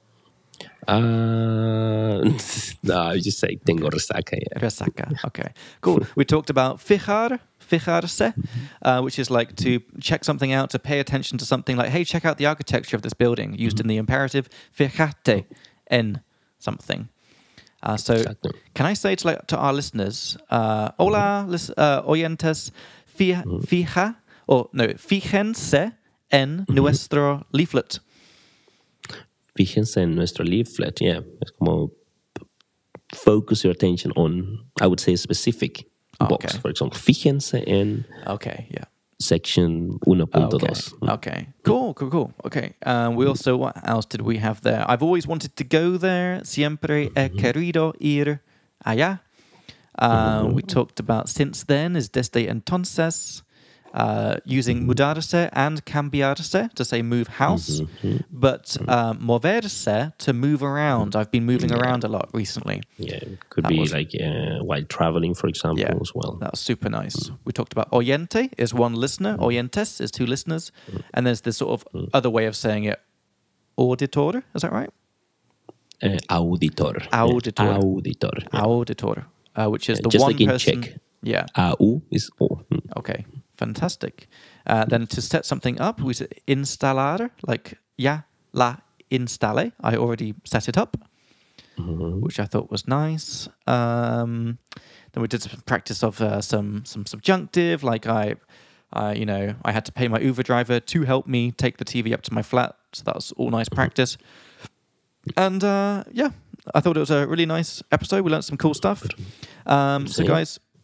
Uh, no, I just say tengo resaca. Yeah. Resaca. Okay, cool. We talked about fijar, fijarse, uh, which is like to check something out, to pay attention to something. Like, hey, check out the architecture of this building. Used in the imperative, fíjate en something. Uh, so, Exacto. can I say to like to our listeners, uh, hola, lis- uh, oyentes, fija, fija, or no, fíjense en nuestro leaflet. Fíjense en nuestro leaflet. Yeah. Es como focus your attention on, I would say, a specific box. Okay. For example, fíjense en Okay, yeah. section one point two. Okay. Okay. Cool. Cool. Cool. Okay. Um, we also, what else did we have there? I've always wanted to go there. Siempre he querido ir allá. Um, We talked about since then is desde entonces. Uh, using mudarse and cambiarse to say move house, but uh, moverse to move around. I've been moving around a lot recently. Yeah. It could That be was- like uh, while traveling, for example, Yeah, as well. that was super nice. We talked about oyente is one listener, oyentes is two listeners, and there's this sort of other way of saying it, auditor. Is that right? Uh, auditor. Auditor. Yeah. Auditor. Yeah. Auditor, uh, which is Yeah, the just one like in person. Czech. Yeah. Au is O. Mm. Okay. Fantastic. Uh, then to set something up, we said instalar, like ya la installe. I already set it up, which I thought was nice. Um, then we did some practice of uh, some some subjunctive, like I, I, you know, I had to pay my Uber driver to help me take the T V up to my flat. So that was all nice practice. And uh, yeah, I thought it was a really nice episode. We learned some cool stuff. Um, so Yeah. guys,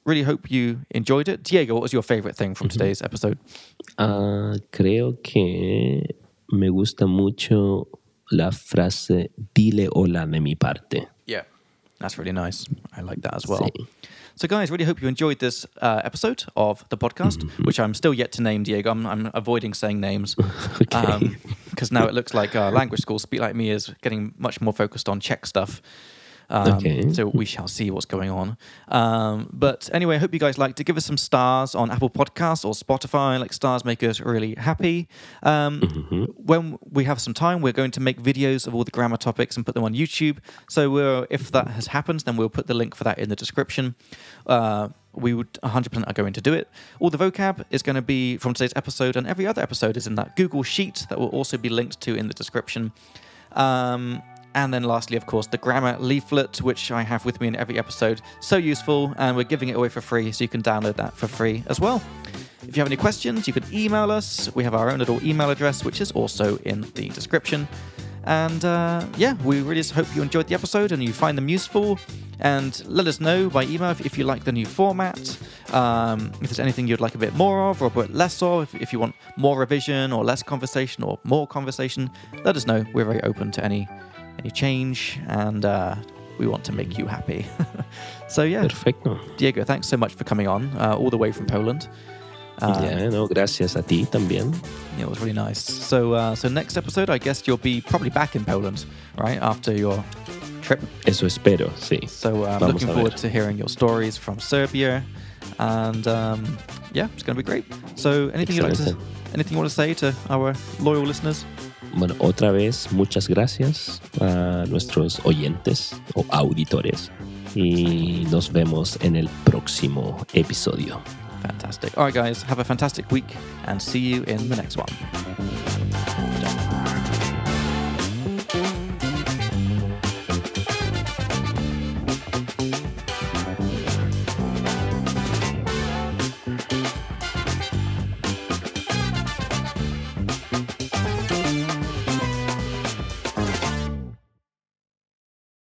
really hope you enjoyed it. Diego, what was your favorite thing from today's episode? Uh, creo que me gusta mucho la frase dile hola de mi parte. Yeah, that's really nice. I like that as well. Sí. So, guys, really hope you enjoyed this uh, episode of the podcast, mm-hmm. which I'm still yet to name, Diego. I'm, I'm avoiding saying names because okay. um, now it looks like uh, language school Speak Like Me is getting much more focused on Czech stuff. Um, okay. So we shall see what's going on. Um, but anyway, I hope you guys like to give us some stars on Apple Podcasts or Spotify. Like stars make us really happy. Um, mm-hmm. When we have some time, we're going to make videos of all the grammar topics and put them on YouTube. So we're, if that has happened, then we'll put the link for that in the description. Uh, we would one hundred percent are going to do it. All the vocab is going to be from today's episode, and every other episode is in that Google Sheet that will also be linked to in the description. Um... And then lastly, of course, the grammar leaflet, which I have with me in every episode. So useful, and we're giving it away for free, so you can download that for free as well. If you have any questions, you can email us. We have our own little email address, which is also in the description. And uh, yeah, we really just hope you enjoyed the episode and you find them useful. And let us know by email if, if you like the new format, um, if there's anything you'd like a bit more of or a bit less of, if, if you want more revision or less conversation or more conversation, let us know. We're very open to any any change, and uh, we want to make you happy. So yeah, perfecto. Diego, thanks so much for coming on uh, all the way from Poland. Uh, yeah, no, gracias a ti también. Yeah, it was really nice. So, uh, so next episode, I guess you'll be probably back in Poland, right, after your trip. Eso espero, sí. So uh, I'm looking forward to hearing your stories from Serbia, and um, yeah, it's going to be great. So, anything you like to, anything you want to say to our loyal listeners? Bueno, otra vez, muchas gracias a nuestros oyentes o auditores y nos vemos en el próximo episodio. Fantastic. All right, guys, have a fantastic week and see you in the next one.